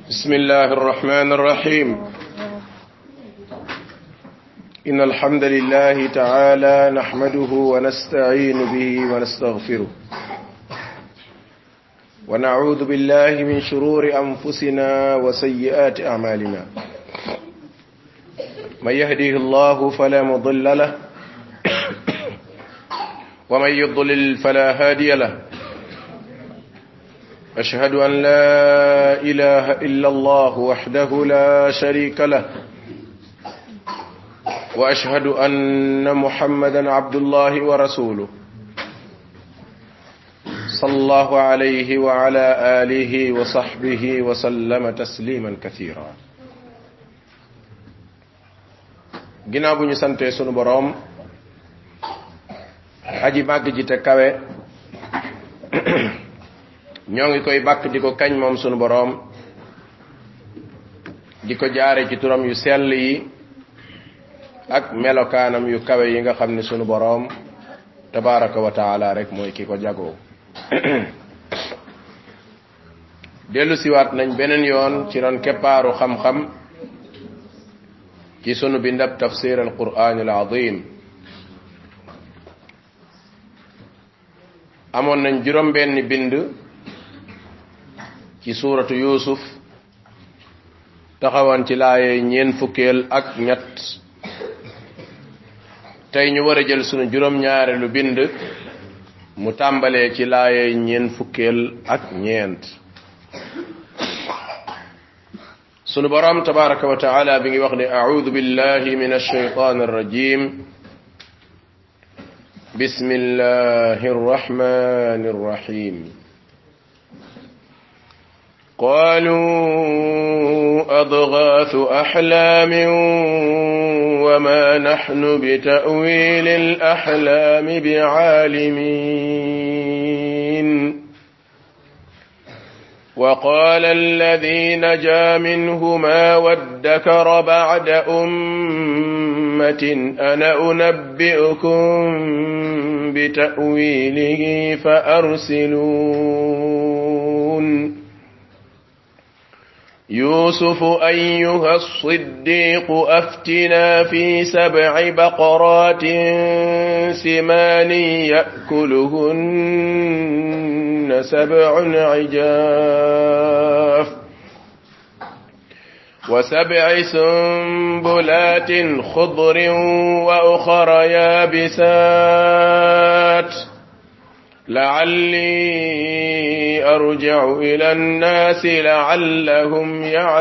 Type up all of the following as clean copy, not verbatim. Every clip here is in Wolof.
بسم الله الرحمن الرحيم إن الحمد لله تعالى نحمده ونستعين به ونستغفره ونعوذ بالله من شرور أنفسنا وسيئات أعمالنا من يهديه الله فلا مضل له ومن يضلل فلا هادي له أشهد أن لا إله إلا الله وحده لا شريك له وأشهد أن محمدا عبد الله ورسوله صلى الله عليه وعلى آله وصحبه وسلم تسليما كثيرا ginnaaw bu ñu sante sunu boroom aji màgg ji te kawe ñoo ngi koy bàkk di ko kañ moom sunu boroom di ko jaare ci turam yu sell yi ak melokaanam yu kawe yi nga xam ne sunu boroom tabaraka wa taala rek mooy ki ko jagoo dellu siwaat nañ beneen yoon ci ron keppaaru xam-xam ci sunu bindab tafsir al qur'an al azim amoon nañ juróom benn bind ci suuratu Yuusuf taxawoon ci laaye ñeen fukkeel ak ñett tey ñu war a jël sunu juróom ñaareelu bind mu tàmbalee ci laaye ñeen fukkeel ak ñeent sunu boroom tabaraka wa taala bi ngi wax ne a'uudu billahi minash shaytaanir rajiim bismillahir rahmaanir rahiim قالوا أضغاث أحلام وما نحن بتأويل الأحلام بعالمين وقال الذي نجا منهما وادكر بعد أمة أنا أنبئكم بتأويله فأرسلون يوسف أيها الصديق أفتنا في 7 بقرات سمان يأكلهن 7 عجاف و7 سنبلات خضر وأخر يابسات لعلي أرجع إلى الناس لعلهم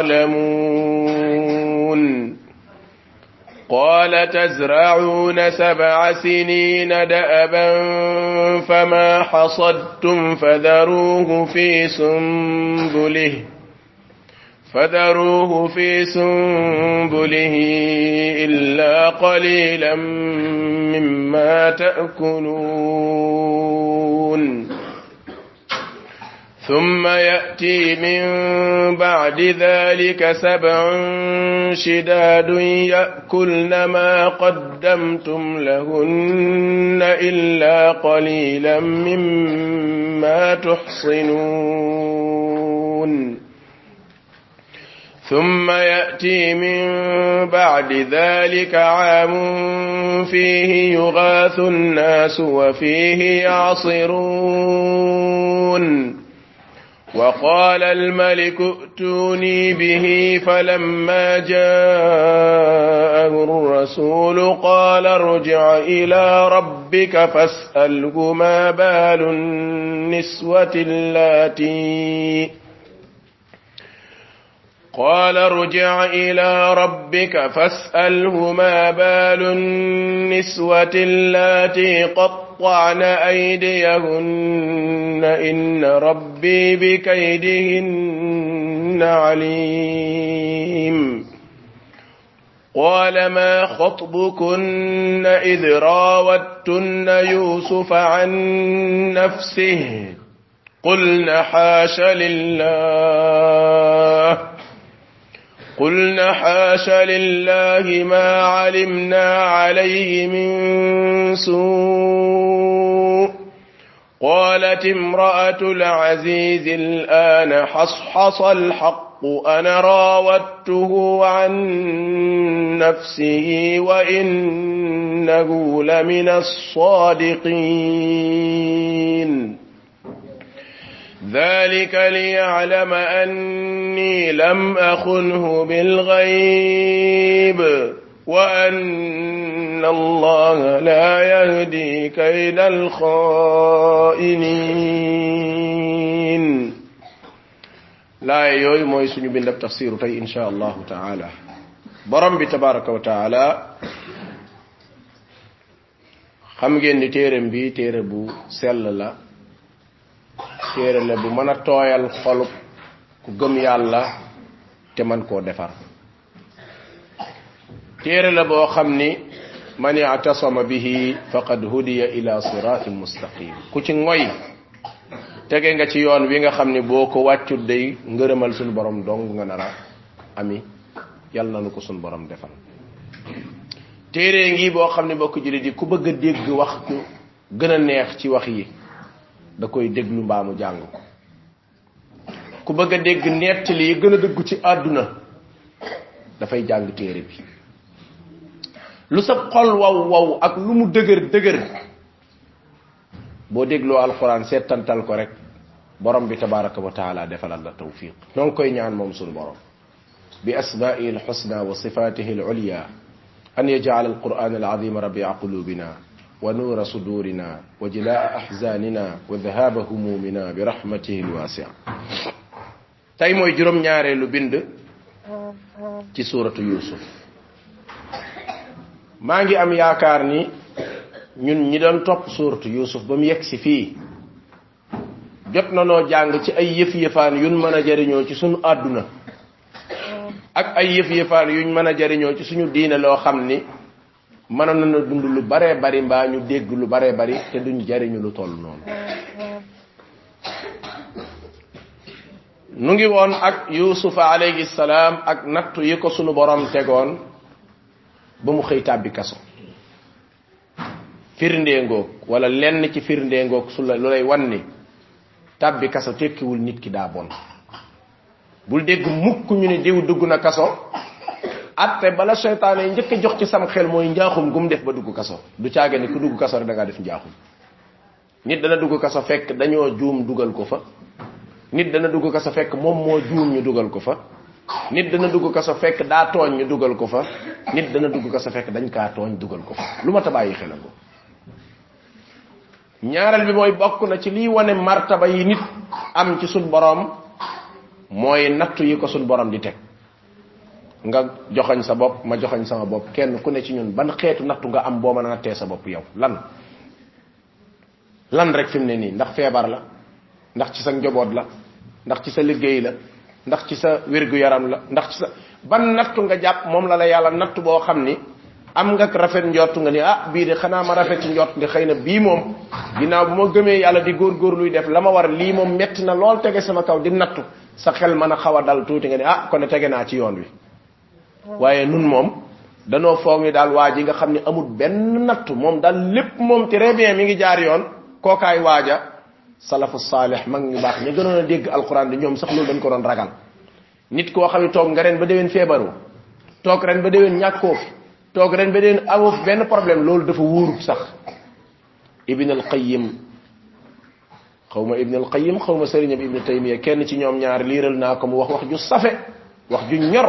يعلمون قال تزرعون 7 سنين دأبا فما حصدتم فذروه في سنبله إلا قليلا مما تأكلون ثم يأتي من بعد ذلك 7 شداد يأكلن ما قدمتم لهن إلا قليلا مما تحصنون ثم يأتي من بعد ذلك عام فيه يغاث الناس وفيه يعصرون وقال الملك ائتوني به فلما جاءه الرسول قال ارجع إلى ربك فاسأله ما بال النسوة اللاتي قطعن أيديهن إن ربي بكيدهن عليم قال ما خطبكن إذ راوتن يوسف عن نفسه قلن حاش لله ما علمنا عليه من سوء قالت امرأة العزيز الآن حصحص الحق أنا راودته عن نفسه وإنه لمن الصادقين ذلك ليعلم أني لم أخنه بالغيب وأن الله لا يهدي كيد الخائنين لا يوي موي سونو بندب تفسير تاي ان شاء الله تعالى borom bi tabaraka wa taala xam ngeen ni téereem bi téere bu sell la téere la bu mën a tooyal xolub ku gëm yàlla te man koo defar téere la boo xam ni man i'tasama bihi faqad hudiya ila siratin mustaqim ku ci ngoy tege nga ci yoon wi nga xam ni boo ko wàccut day ngërëmal suñu borom dong nga nara ami yàlla nanu ko suñu borom defal téere ngi boo xam ne bokk jullit yi ku bëgg a dégg wax ku gën a neex ci wax yi da koy déglu mbaamu jàng ko ku bëgg a dégg nettali yi gën a dëggu ci àdduna dafay jàng téere bi lu sa xol waw waw ak lu mu dëgër dëgër boo dégloo alquran seetantal ko rek borom bi tabaraka wa taala defalal la tawfiq non koy ñaan moom sunu borom bi asma'ihi alhusna wa sifatihi alulya an yaj'al alquran alazim rabi'a qulubina wa nura sudurina wa jilaa ahzanina wa dhahaba humumina bi rahmatihi alwasi'a tay moy juróom ñaareelu bind ci suratu yusuf maa ngi am yaakaar ni ñun ñi doon topp suuratu yusuf ba mu yegg si fii jot na noo jàng ci ay yëf-yëfaan yuñ mën a jariñoo ci suñu àdduna ak ay yëf-yëfaan yuñ mën a jariñoo ci suñu diine loo xam ni mënoon na dund lu baree bari mbaa ñu dégg lu baree bari te duñ jariñu lu toll noonu nu ngi woon ak yusufa alayhi salaam ak nattu yi ko sunu borom tegoon ba mu xëy tàbbi kaso firndee ngoog wala lenn ci firndee ngoog su la lu lay wan ni tàbbi kaso tekkiwul nit ki daa bon bul dégg mukk ñu ne diw dugg na kaso atte bala seytaane yi njëkk a jox ci sam xel mooy njaaxum gum def ba dugg kaso du caage ni ku dugg kaso rek da ngaa def njaaxum nit dana dugg kaso fekk dañoo juum dugal ko fa nit dana dugg kaso fekk moom moo juum ñu dugal ko fa nit dana dugg kaso fekk daa tooñ ñu dugal ko fa nit dana dugg kaso fekk dañ kaa tooñ dugal ko fa lu ma ta bàyyi xelal ko ñaaral bi mooy bokk na ci lii wane martaba yi nit am ci sun borom mooy nattu yi ko sun borom di teg nga joxañ sa bopp ma joxañ sama bopp kenn ku ne ci ñun ban xeetu nattu nga am boo mën a nattee sa bopp yow lan rek fi mu ne nii ndax feebar la ndax ci sa njaboot la ndax ci sa liggéey la ndax ci sa wérgu yaram la ndax ci sa ban nattu nga jàpp moom la la yàlla nattu boo xam ni am nga rafet njort nga ni ah bii de xanaa ma rafet njort ni xëy na bii moom ginnaaw bu ma gëmee yàlla di góor luy def la ma war lii moom metti na lool tege sama kaw di nattu sa xel mën a xaw a dal tuuti nga ni ah kon tege naa ci yoon wi waaye nun moom danoo foog ni daal waa ji nga xam ne amul benn nattu moom daal lépp moom très bien mi ngi jaar yoon kookaay waaja salafu saalih mag ñu baax ñu gënoon a dégg alquran di ñoom sax loolu dañ ko doon ragal nit koo xam ne toog nga ren ba déwén feebaru toog ren ba déwén ñàkkoo fi toog ren ba déwén amoo fi benn problème loolu dafa wóorut sax ibn al qayyim xawma ibn al qayyim xawma sëriñam ibn taymiya kenn ci ñoom ñaar liiral naa ko mu wax ju safe wax ju ñor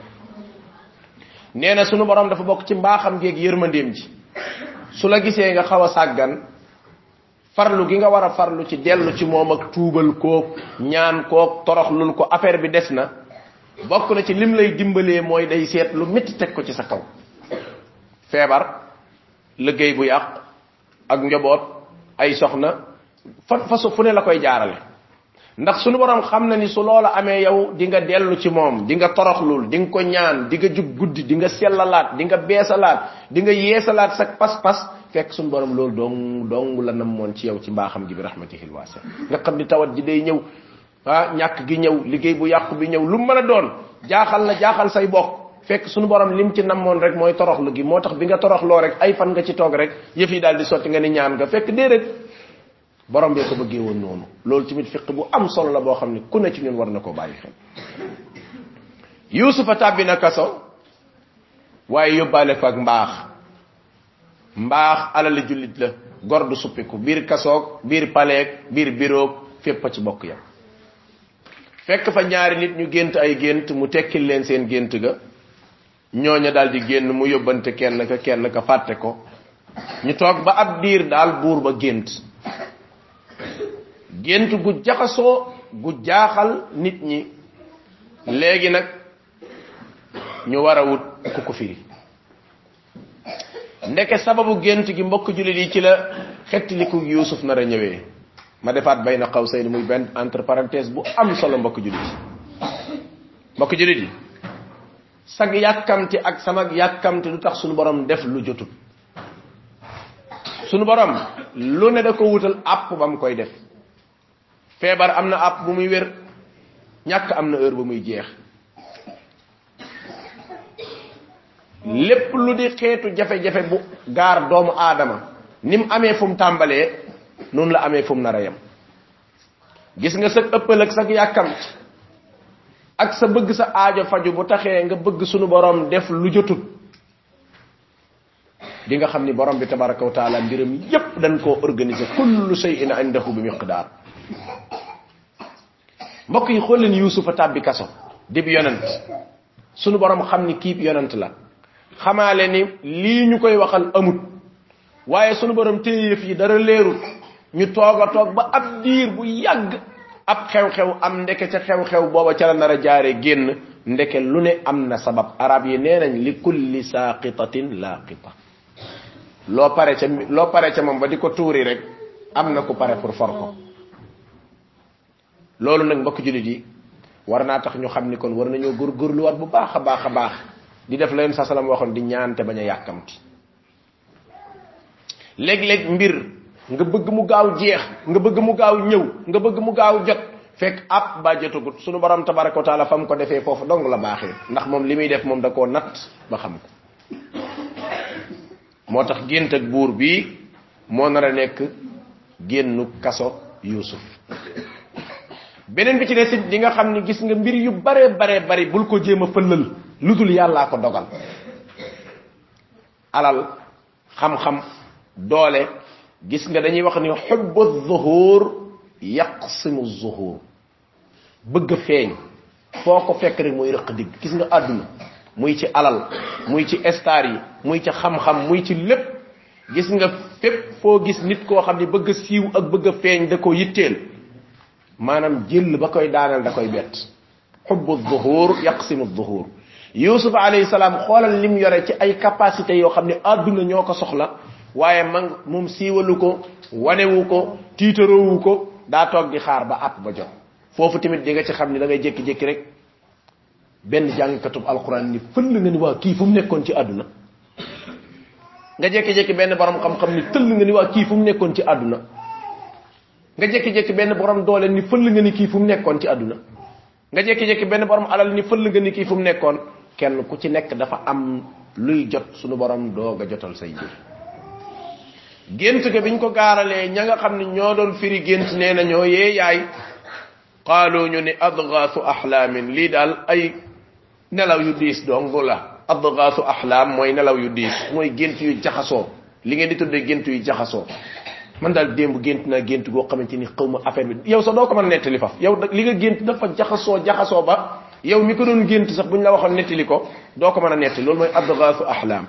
nee na sunu borom dafa bokk ci mbaaxam geeg yërmandeem ji su la gisee nga xaw a sàggan farlu gi nga war a farlu ci dellu ci moom ak tuubal koog ñaan koog toroxlul ko affaire bi des na bokk na ci lim lay dimbalee mooy day seet lu métti teg ko ci sa kaw feebar liggéey bu yàq ak njaboot ay soxna fasu fu ne la koy jaarale ndax sunu borom xam na ni su loola amee yow di nga dellu ci moom di nga toroxlul di nga ko ñaan di nga jug guddi di nga sellalaat di nga beesalaat di nga yeesalaat sa pas-pas fekk sunu borom loolu dong la namoon ci yow ci mbaaxam gi bi rahmatihil wasi nga xam ni tawat ji day ñëw ah ñàkk gi ñëw liggéey bu yàqu bi ñëw lu mën a doon jaaxal say bokk fekk sunu borom lim ci namoon rek mooy toroxlu gi moo tax bi nga toroxloo rek ay fan nga ci toog rek yëf yi daal di sotti nga ni ñaan nga fekk déedéet borom bi ko bëggee woon noonu loolu tamit fiq bu am solo la boo xam ne ku ne ci ñun war na ko bàyyi xel yusufa tàbbi na kaso waaye yóbbaale fa ak mbaax alali jullit la gor du suppiku biir kasoog biir paleeg biir biroog fépp ci bokk yam fekk fa ñaari nit ñu gént ay gént mu tekkil leen seen gént ga ñooña daal di génn mu yóbbante kenn ka fàtte ko ñu toog ba ab diir daal buur ba gént gu jaxasoo gu jaaxal nit ñi léegi nag ñu war a wut ku ko firi ndeke sababu gént gi mbokk jullit yi ci la xettiliku Yuusuf nar a ñëwee ma defaat bayna qawsayn muy benn entre parenthèse bu am solo mbokk jullit yi sag yàkkamti ak sama yàkkamti lu tax sunu borom def lu jotut sunu borom lu ne da ko wutal app bam koy def feebar am na app bu muy wér ñàkk am na heure bu muy jeex lépp lu di xeetu jafe-jafe bu gaar doomu aadama nim amee fu mu tàmbalee noonu la amee fu mu nar a yem gis nga sa ëppal ak sa yàkkamti ak sa bëgg sa aajo faju bu taxee nga bëgg sunu borom def lu jotut di nga xam ni borom bi tabaraka wa taala mbiram yépp dañ koo organiser kullu shay'in indahu bi miqdar mbokk yi xool leen yusufa tàbbi kaso dib yonent sunu borom xam ni kiib yonent la xamaale ni lii ñu koy waxal amut waaye sunu borom téye yëf yi dara leerul ñu toog ba ab diir bu yàgg ab xew-xew am ndeke ca xew-xew booba ca la nar a jaare génn ndeke lu ne am na sabab arab yi nee nañ li kulli saqitatin laqita loo pare ca moom ba di ko tuuri rek am na ku pare pour for ko loolu nag mbokk jullit yi war naa tax ñu xam ni kon war nañoo góorgóorluwaat bu baax a baax di def leen sa salam waxoon di ñaante bañ a yàkkamti léeg-léeg mbir nga bëgg mu gaaw jeex nga bëgg mu gaaw ñëw nga bëgg mu gaaw jot fekk ab ba jotagut sunu borom tabaraka wa taala fam ko defee foofu dong la baaxee ndax moom li muy def moom da koo natt ba xam ko moo tax gént ak buur bii moo nar a nekk génnu kaso Yuusuf beneen bi ci des di nga xam ni gis nga mbir yu bare bari bul ko jéem a fëllal lu dul yàllaa ko dogal alal xam-xam doole gis nga dañuy wax ni hubbu zuhur yaqsimu zuhur bëgg feeñ foo ko fekk rek mooy rëq digg gis nga àdduna muy ci alal muy ci star yi muy ci xam-xam muy ci lépp gis nga fépp foo gis nit koo xam ni bëgg siiw ak bëgg feeñ da ko yitteel maanaam jël ba koy daanal da koy bett hubbu zuhur yaqsimu zuhur Yusuf alayhi salaam xoolal lim yore ci ay capacité yoo xam ne àdduna ñoo ko soxla waaye moom siiwalu ko wanewu ko tiitarowu ko daa toog di xaar ba àpp ba jot foofu tamit di nga ci xam ni da ngay jékki-jékki rek benn jàngkatub alquran ni fëll nga ni waa kii fu mu nekkoon ci àdduna nga jékki-jékki benn borom xam-xam ni tëll nga ni waa kii fu mu nekkoon ci àdduna nga jékki-jékki benn borom doole ni fëll nga ni kii fu mu nekkoon ci àdduna nga jékki-jékki benn borom alal ni fëll nga ni kii fu mu nekkoon kenn ku ci nekk dafa am luy jot sunu borom doog a jotal say mbir gént ga biñ ko gaaralee ña nga xam ne ñoo doon firi gént nee na ñoo yee yaay qaalu ñu ni adgaasu ahlaamin lii daal ay nelaw yu diis dong la adgaasu ahlaam mooy nelaw yu diis mooy gént yu jaxasoo li ngeen di tuddee gént yu jaxasoo man daal démb gént naa gént goo xamante ni xaw ma affaire bi yow sax doo ko mën a nettali fa yow li nga gént dafa jaxasoo ba yow mi ko doon gént sax buñ la waxoon nettali ko doo ko mën a nettali loolu mooy adgaasu ahlaam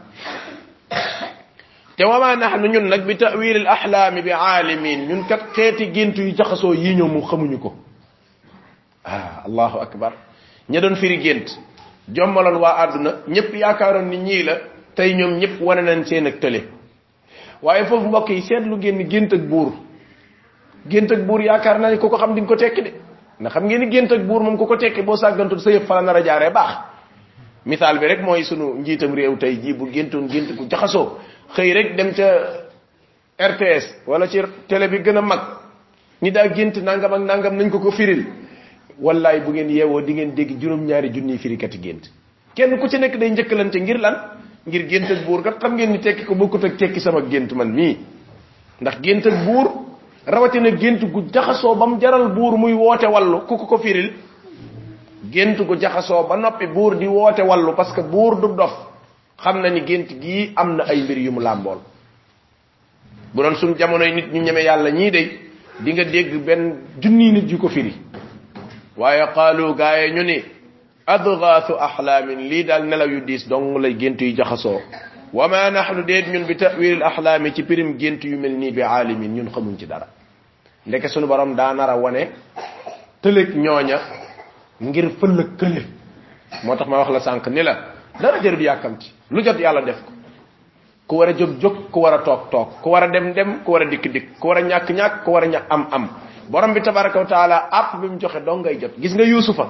te wama nahnu ñun nag bi ta'wil al ahlam bi alimin ñun kat xeeti gént yu jaxasoo yi ñoom mu xamuñu ko allahu akbar ña doon firi gént jommaloon waa àdduna ñëpp yaakaaroon ni ñii la tey ñoom ñëpp wane nañ seen ak tële waaye foofu mbokk yi seetlu ngeen gént ak buur yaakaar naa ni ku ko xam di nga ko tekki de ndax xam ngeen ni gént ak buur moom ku ko tekki boo sàggantul sa yëpp fa la nar a jaaree baax misaal bi rek mooy sunu njiitam réew tey jii bu géntoon gént ku jaxasoo xëy rek dem ca RTS wala ci télé bi gën a mag ni daa gént nangam ak nangam nañ ko firil wallaay bu ngeen yeewoo di ngeen dégg juróom-ñaari junniy firikati gént kenn ku ci nekk day njëkkalante ngir lan ngir gént ak buur kat xam ngeen ni tekki ko bokkut ak tekki sama gént man mii ndax gént ak buur rawatina gént gu jaxasoo bam jaral buur muy woote wallu ku ko firil gént gu jaxasoo ba noppi buur di woote wallu parce que buur du dof xam na ni gént gii am na ay mbir yu mu làmbool bu doon suñ jamonoy nit ñu ñeme yàlla ñii day di nga dégg benn junni nit yu ko firi waaye qaalu gaaye ñu ni adgaasu ahlaamin lii daal nelaw yu diis dong lay gént yu jaxasoo wa ma nahnu déet ñun bi ta'wil al ahlaami ci pirim gént yu mel nii bi aalimin ñun xamuñ ci dara ndeke sunu borom daa nar a wane tëlëg ñooña ngir fëllëg kële moo tax ma wax la sànq ni la dara jër bi yàkkamti lu jot yàlla def ko ku war a jóg jóg ku war a toog toog ku war a dem dem ku war a dikk dikk ku war a ñàkk ñàkk ku war a am am borom bi tabaraka wa taala app bi mu joxe dong ngay jot gis nga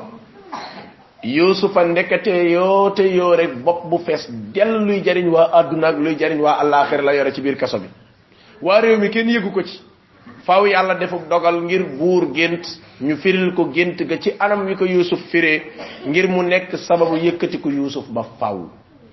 yusufa ndekete yoo te yoo rek bopp bu fees del luy jariñ waa àdduna ak luy jariñ waa àllaaxira la yore ci biir kaso bi waa réew mi kenn yëgu ko ci faaw yàlla defuk dogal ngir buur gént ñu firil ko gént ga ci anam wi ko yusuf firee ngir mu nekk sababu yëkkati ko yusuf ba faaw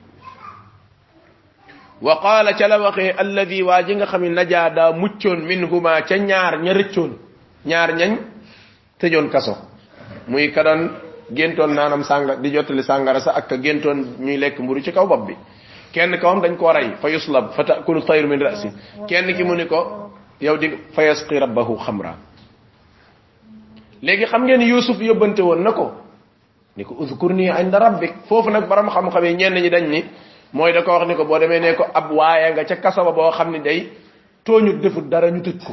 wa qaala ca la waxee alladi waa ji nga xam ne najaa daa muccoon minhuma ca ñaar ña rëccoon ñaar ñañ tëjoon kaso muy ka doon géntoon naanam sànga di jottali sàngara sa ak ka géntoon ñuy lekk mburu ci kaw bopp bi kenn kawam dañ koo rey fa yuslab fa taakulu tayru min rasi kenn ki mu ni ko yow di fa yasqi rabbahu xamra léegi xam ngeen yusuf yóbbante woon na ko ni ko uzkurni inda rabbik foofu nag borom xam-xam yi ñenn ñi dañ ni mooy da ko wax ni ko boo demee ne ko ab waaye nga ca kaso ba boo xam ni day tooñu defut dara ñu tëj ko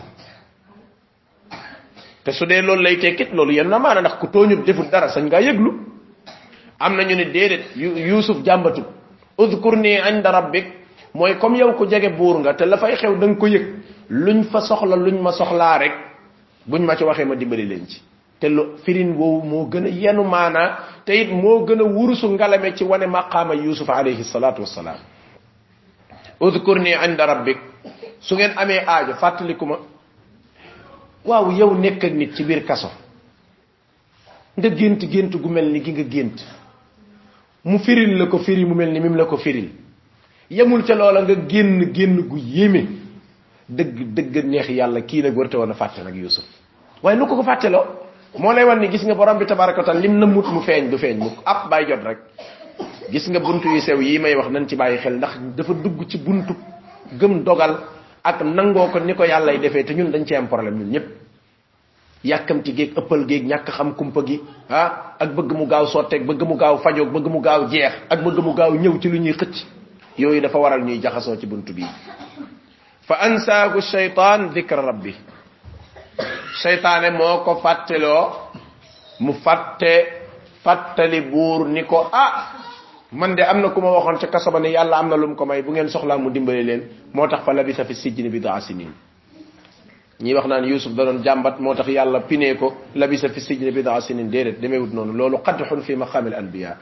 te su dee loolu lay tekkit loolu yenn na maana ndax ku tooñu defut dara sañ ngaa yëglu am na ñu ni déedéet yusuf jàmbatu udkurni inda rabbik mooy comme yow ku jege buur nga te la fay xew da nga ko yëg luñ fa soxla luñ ma soxlaa rek buñ ma ci waxee ma dimbali leen ci te lu firin woowu moo gën a yenu maanaa te it moo gën a wurusu ngalame ci wane maqaama yusuf alayhi salatu wassalaam udkurni inda rabbik su ngeen amee aajo fàttaliku ma waaw yow nekk ak nit ci biir kaso nga gént gu mel ni gi nga gént mu firil la ko firi mu mel ni mim la ko firil yemul ca loola nga génn gu yéeme dëgg neex yàlla kii nag warta woon a fàtte nag yusuf waaye lu ko fàtteloo moo lay wan ni gis nga borom bi tabaraka wa taala lim na mut mu feeñ du feeñ mukk ab bàyyi jot rek gis nga buntu yu sew yi may wax nañ ci bàyyi xel ndax dafa dugg ci buntu gëm dogal ak nangoo ko ni ko yàllay defee te ñun dañ ci am problème ñun ñëpp yàkkamti géeg ëppal géeg ñàkk xam kumpa gi ak bëgg mu gaaw sotteeg bëgg mu gaaw fajoog bëgg mu gaaw jeex ak bëgg mu gaaw ñëw ci lu ñuy xëcc yooyu dafa waral ñuy jaxasoo ci buntu bi fa ansaahu shaytaan dhikra rabbi shaytaane moo ko fàtteloo mu fàttali buur ni ko man de am na ku ma waxoon ca kasaba ne yàlla am na lu mu ko may bu ngeen soxlaa mu dimbali leen moo tax fa labisa fi sijni bid'a sinin ñi wax naan yusuf da doon jàmbat moo tax yàlla pinee ko labisa fi sijni bid'a sinin déedéet demeewut noonu loolu qadhun fi maqaamil anbiya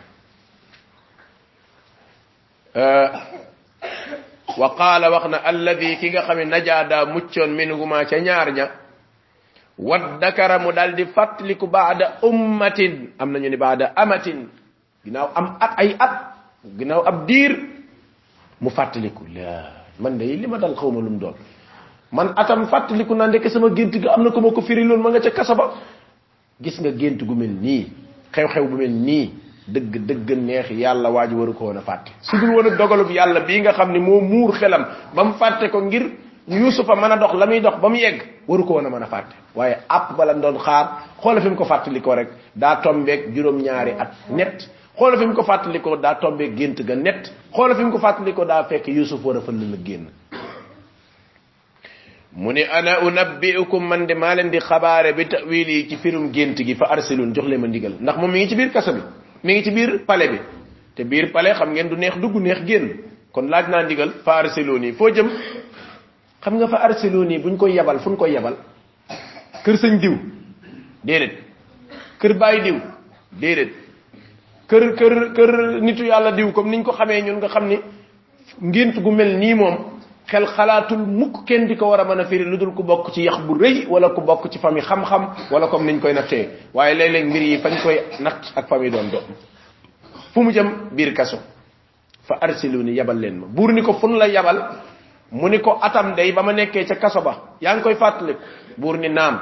wa qaala wax na alladi ki nga xam ne najaada muccoon minhuma ca ñaar ña waddakara mu daal di fàttaliku baada ummatin am nañu ni baada amatin ginnaaw am ay at ginnaaw ab diir mu fàttaliku la man de li ma dal xawma lu mu doon man atam fàttaliku naa ndekk sama gént ga am na ko ma ko firi loon ma nga ca kasa ba gis nga gént gu mel nii xew-xew bu mel nii dëgg neex yàlla waa ji waru ko woon a fàtte su dul woon a dogalub yàlla bii nga xam ne moo muur xelam ba mu fàtte ko ngir yusufa mën a dox la muy dox ba mu yegg waru ko woon a mën a fàtte waaye àpp bala doon xaar xoola fi mu ko fàttalikoo rek daa tombeeg juróom-ñaari at net xoola fi mu ko fàttalikoo daa tombeeg gént ga net xoola fi mu ko fàttalikoo daa fekk yusuf war a fël la génn mu ne ana unabbiukum man de maa leen di xabaare bi tawili ci firum gént gi fa arsilun jox leen ma ndigal ndax moom mi ngi ci biir kaso bi mi ngi ci biir palais bi te biir palais xam ngeen du neex dugg neex génn kon laaj naa ndigal fa arsiluni foo jëm xam nga fa arsiluni buñ koy yabal fuñ koy yabal kër sëñ diw déedéet kër bàyyi diw déedéet kër nitu yàlla diw comme niñ ko xamee ñun nga xam ni ngént gu mel nii moom xel xalaatul mukk kenn di ko war a mën a firi lu dul ku bokk ci yax bu rëy wala ku bokk ci famille xam-xam wala comme niñ koy nattee waaye léeg-léeg mbir yi fañ koy natt ak famille doon doon fu mu jëm biir kaso fa arsiluni yabal leen ma buur ni ko fun la yabal mu ni ko atam day ba ma nekkee ca kaso ba yaa ngi koy fàttaliku buur ni naam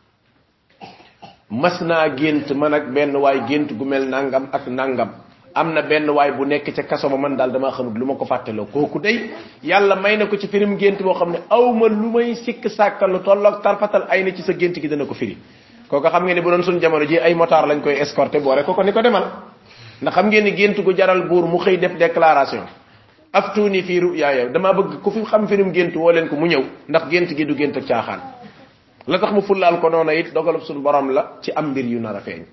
mas naa gént man ak benn waay gént gu mel nangam ak nangam am na benn waay bu nekk ca kaso ba man daal damaa xamut lu ma ko fàttaloo kooku day yàlla may na ko ci firim gént boo xam ne awma lu may sikk sàkkal lu tolloog tarfatal ay na ci sa gént gi dana ko firi kooku xam ngeen ne bu doon suñ jamono ji ay motard lañ koy escorté boore ko ni ko demal ndax xam ngeen ni gént gu jaral buur mu xëy def déclaration aftuni fi ru'ya dama bëgg ku fi xam firim gént woo leen ko mu ñëw ndax gént gi du gént ak caaxaan la tax mu fullaal ko noonu it dogalub suñu borom la ci am mbir yu nar a feeñ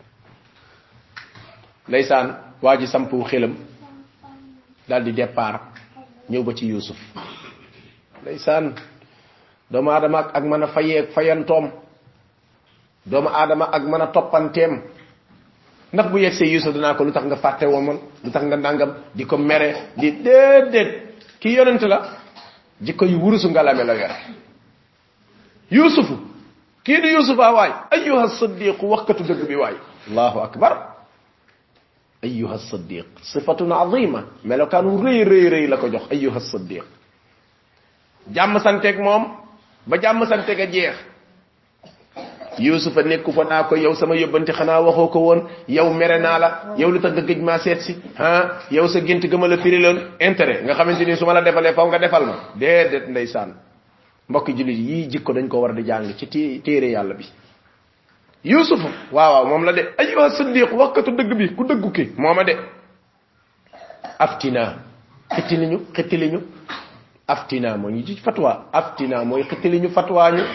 ndeysaan waa ji sampu xelam daal di départ ñëw ba ci Yuusuf ndeysaan doomu aadama ak mën a fayantoom doomu aadama ak mën a toppanteem ndax bu yegsee Yuusuf danaa ko lu tax nga fàtte woon lu tax nga nangam di ko mere di déedéet ki yonent la jikko yu wurusu ngalame la yor Yuusufu kii di Yuusufa waay ayyuha siddiq waxkatu dëgg bi waay allahu akbar أيها الصديق صفة عظيمة ملو كانوا ري لكو جوخ أيها الصديق جام سانتك موم با جام سانتك جيخ يوسف نيكو فا ناكو يو سما يوبنتي خنا waxoko won yow mere na la yow lu tax nga gëj ma set ci ha yow sa gënt gëma la firilon intérêt nga xamanteni suma la defalé faw nga defal ma dedet ndaysan mbokk julit yi jikko dañ ko war di jang ci téré yalla bi Yusuf waaw mom la de ayyuha siddiq wakatu deug bi ku deggu ki moma de aftina xitiliñu aftina mo ñu ci fatwa aftina moy xitiliñu fatwa ñu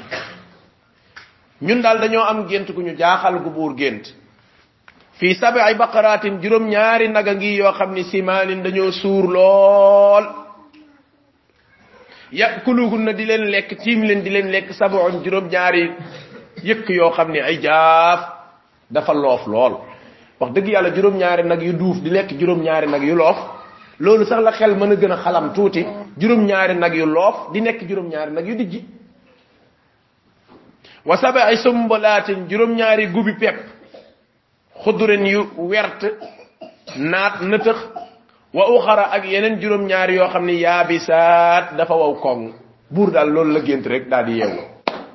ñun dal dañoo am gënt gu ñu jaaxal gu buur gënt fi sab'i baqaratin juróom ñaari naga ngi yo xamni simanin dañoo suur lool yakuluhunna di len lek tim len di len lek sab'un juróom ñaari yëkk yoo xam ne ay jaaf dafa loof lool wax dëgg yàlla juróom-ñaari nag yu duuf di lekk juróom-ñaari nag yu loof loolu sax la xel mën a gën a xalam tuuti juróom-ñaari nag yu loof di nekk juróom-ñaari nag yu dijji wa sab'i sumbulatin juróom-ñaari gubi pepp xudurin yu wert naat nëtëx wa uxara ak yeneen juróom-ñaari yoo xam ne yaabisaat dafa waw koŋ buur daal loolu la gént rek daal di yeewu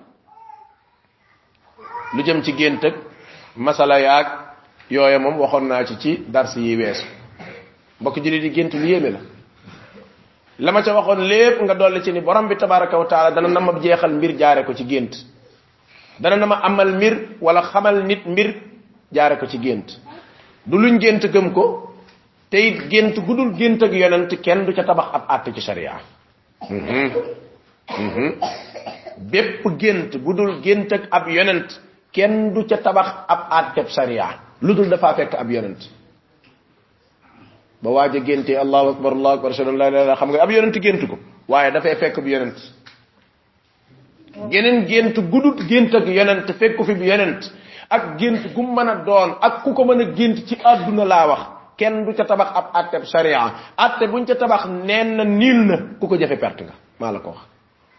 lu jëm ci gént ak masala yaag yooya moom waxoon naa ci dars yi weesu mbokk jullit di gént lu yéeme la ma ca waxoon lépp nga dolli ci ni borom bi tabaraka wa taala dana na ma jeexal mbir jaare ko ci gént dana na ma amal mbir wala xamal nit mbir jaare ko ci gént du luñ gént gëm ko te it gént gudul gént ak yonent kenn du ca tabax ab àtte ci sharia bépp gént gudul gént ak ab yonent kenn du ca tabax ab àtteb sharia ludul dafa fekk ab yonent ba waaja génte allahu akbar ashhadu an la ilaha illallah xam nga ab yonent gént ko waaye dafay fekk bu yonent geneen gént gudul gént ak yonent fekk fi bu yonent ak gént gu mën a doon ak ku ko mën a gént ci àdduna laa wax kenn du ca tabax ab àtteb sharia àtte buñ ca tabax neen na niil na ku ko jafe perte nga maa la ko wax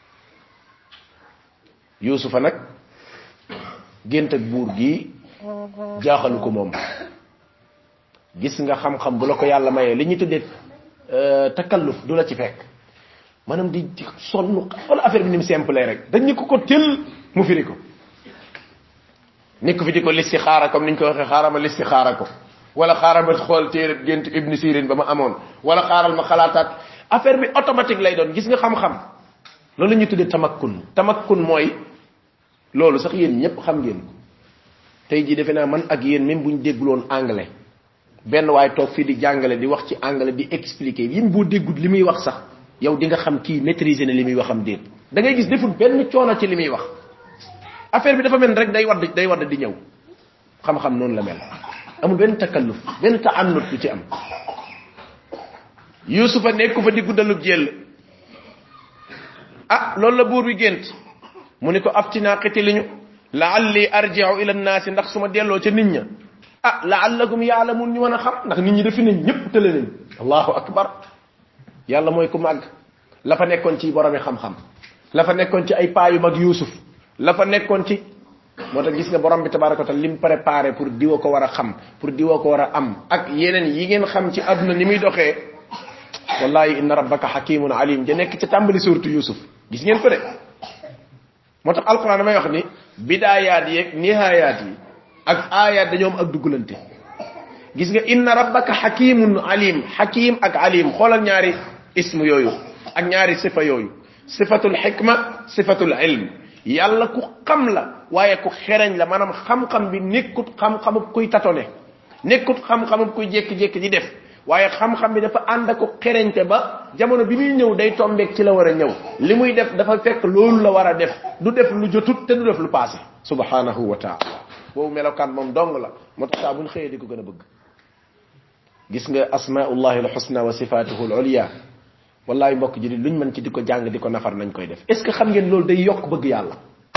Yuusufa nag gént ak buur gi jaaxalu ko moom gis nga xam-xam bu la ko yàlla mayee li ñu tuddee takalluf du la ci fekk maanaam di sonn wala affaire bi ni mu simple rek dañ ñu ko tel mu firi ko nit ko fi di ko listixaara comme niñ ko waxee xaaral ma listixaara ko wala xaaral ma xool téere gént Ibn Sirin ba ma amoon wala xaaral ma xalaataat affaire bi automatique lay doon gis nga xam-xam loolu la ñuy tuddee tamakkun mooy loolu sax yéen ñëpp xam ngeen ko tey jii defe naa man ak yéen même bu ñu dégguloon anglais benn waaye toog fii di jàngale di wax ci anglais di expliquer yim boo déggut li muy wax sax yow di nga xam kii maîtriser na li muy waxam déet da ngay gis deful benn coono ci li muy wax affaire bi dafa mel rek day wadd di ñëw xam-xam noonu la mel amul benn takalluf benn ta'annut du ci am Yuusufa nekku fa di guddalub jël loolu la buur bi gént mu ni ko aftina qitiliñu la'alli arji'u ila an-nas ndax suma delloo ca nit ña la'allakum ya'lamun ñu mën a xam ndax nit ñi defi nañ ñëpp tële nañ allahu akbar yàlla mooy ku màgg la fa nekkoon ci boromi xam-xam la fa nekkoon ci ay paayu mag Yuusuf la fa nekkoon ci moo tax gis nga borom bi tabaraka wa taala lim préparé pour diwa ko war a xam pour diwa ko war a am ak yeneen yi ngeen xam ci àdduna ni muy doxee wallahi inna rabbaka hakimun alim ja nekk ca tàmbali suratu yusuf gis ngeen ko de moo tax alquran damay wax ni bidaayaat yeeg nihayaat yi ak ayat dañoo am ak duggalante gis nga inna rabbaka hakimun alim hakim ak alim xoolal ñaari ismu yooyu ak ñaari sifa yooyu sifatul hikma sifatul ilm yàlla ku xam la waaye ku xereñ la maanaam xam-xam bi nekkut xam-xamub kuy tatone nekkut xam-xamub kuy jékki-jékki di def waaye xam-xam bi dafa ànd ak xereñte ba jamono bi muy ñëw day tombeek ci la war a ñëw li muy def dafa fekk loolu la war a def du def lu jotut te du def lu passé subhanahu wa taala boobu melokaan moom dong la moo tax saa buñ xëyee di ko gën a bëgg gis nga asmaullahi alhusna wa sifatuhu alulia wallahi mbokk ji luñ mën ci di ko jàng di ko nafar nañ koy def est ce que xam ngeen loolu day yokk bëgg yàlla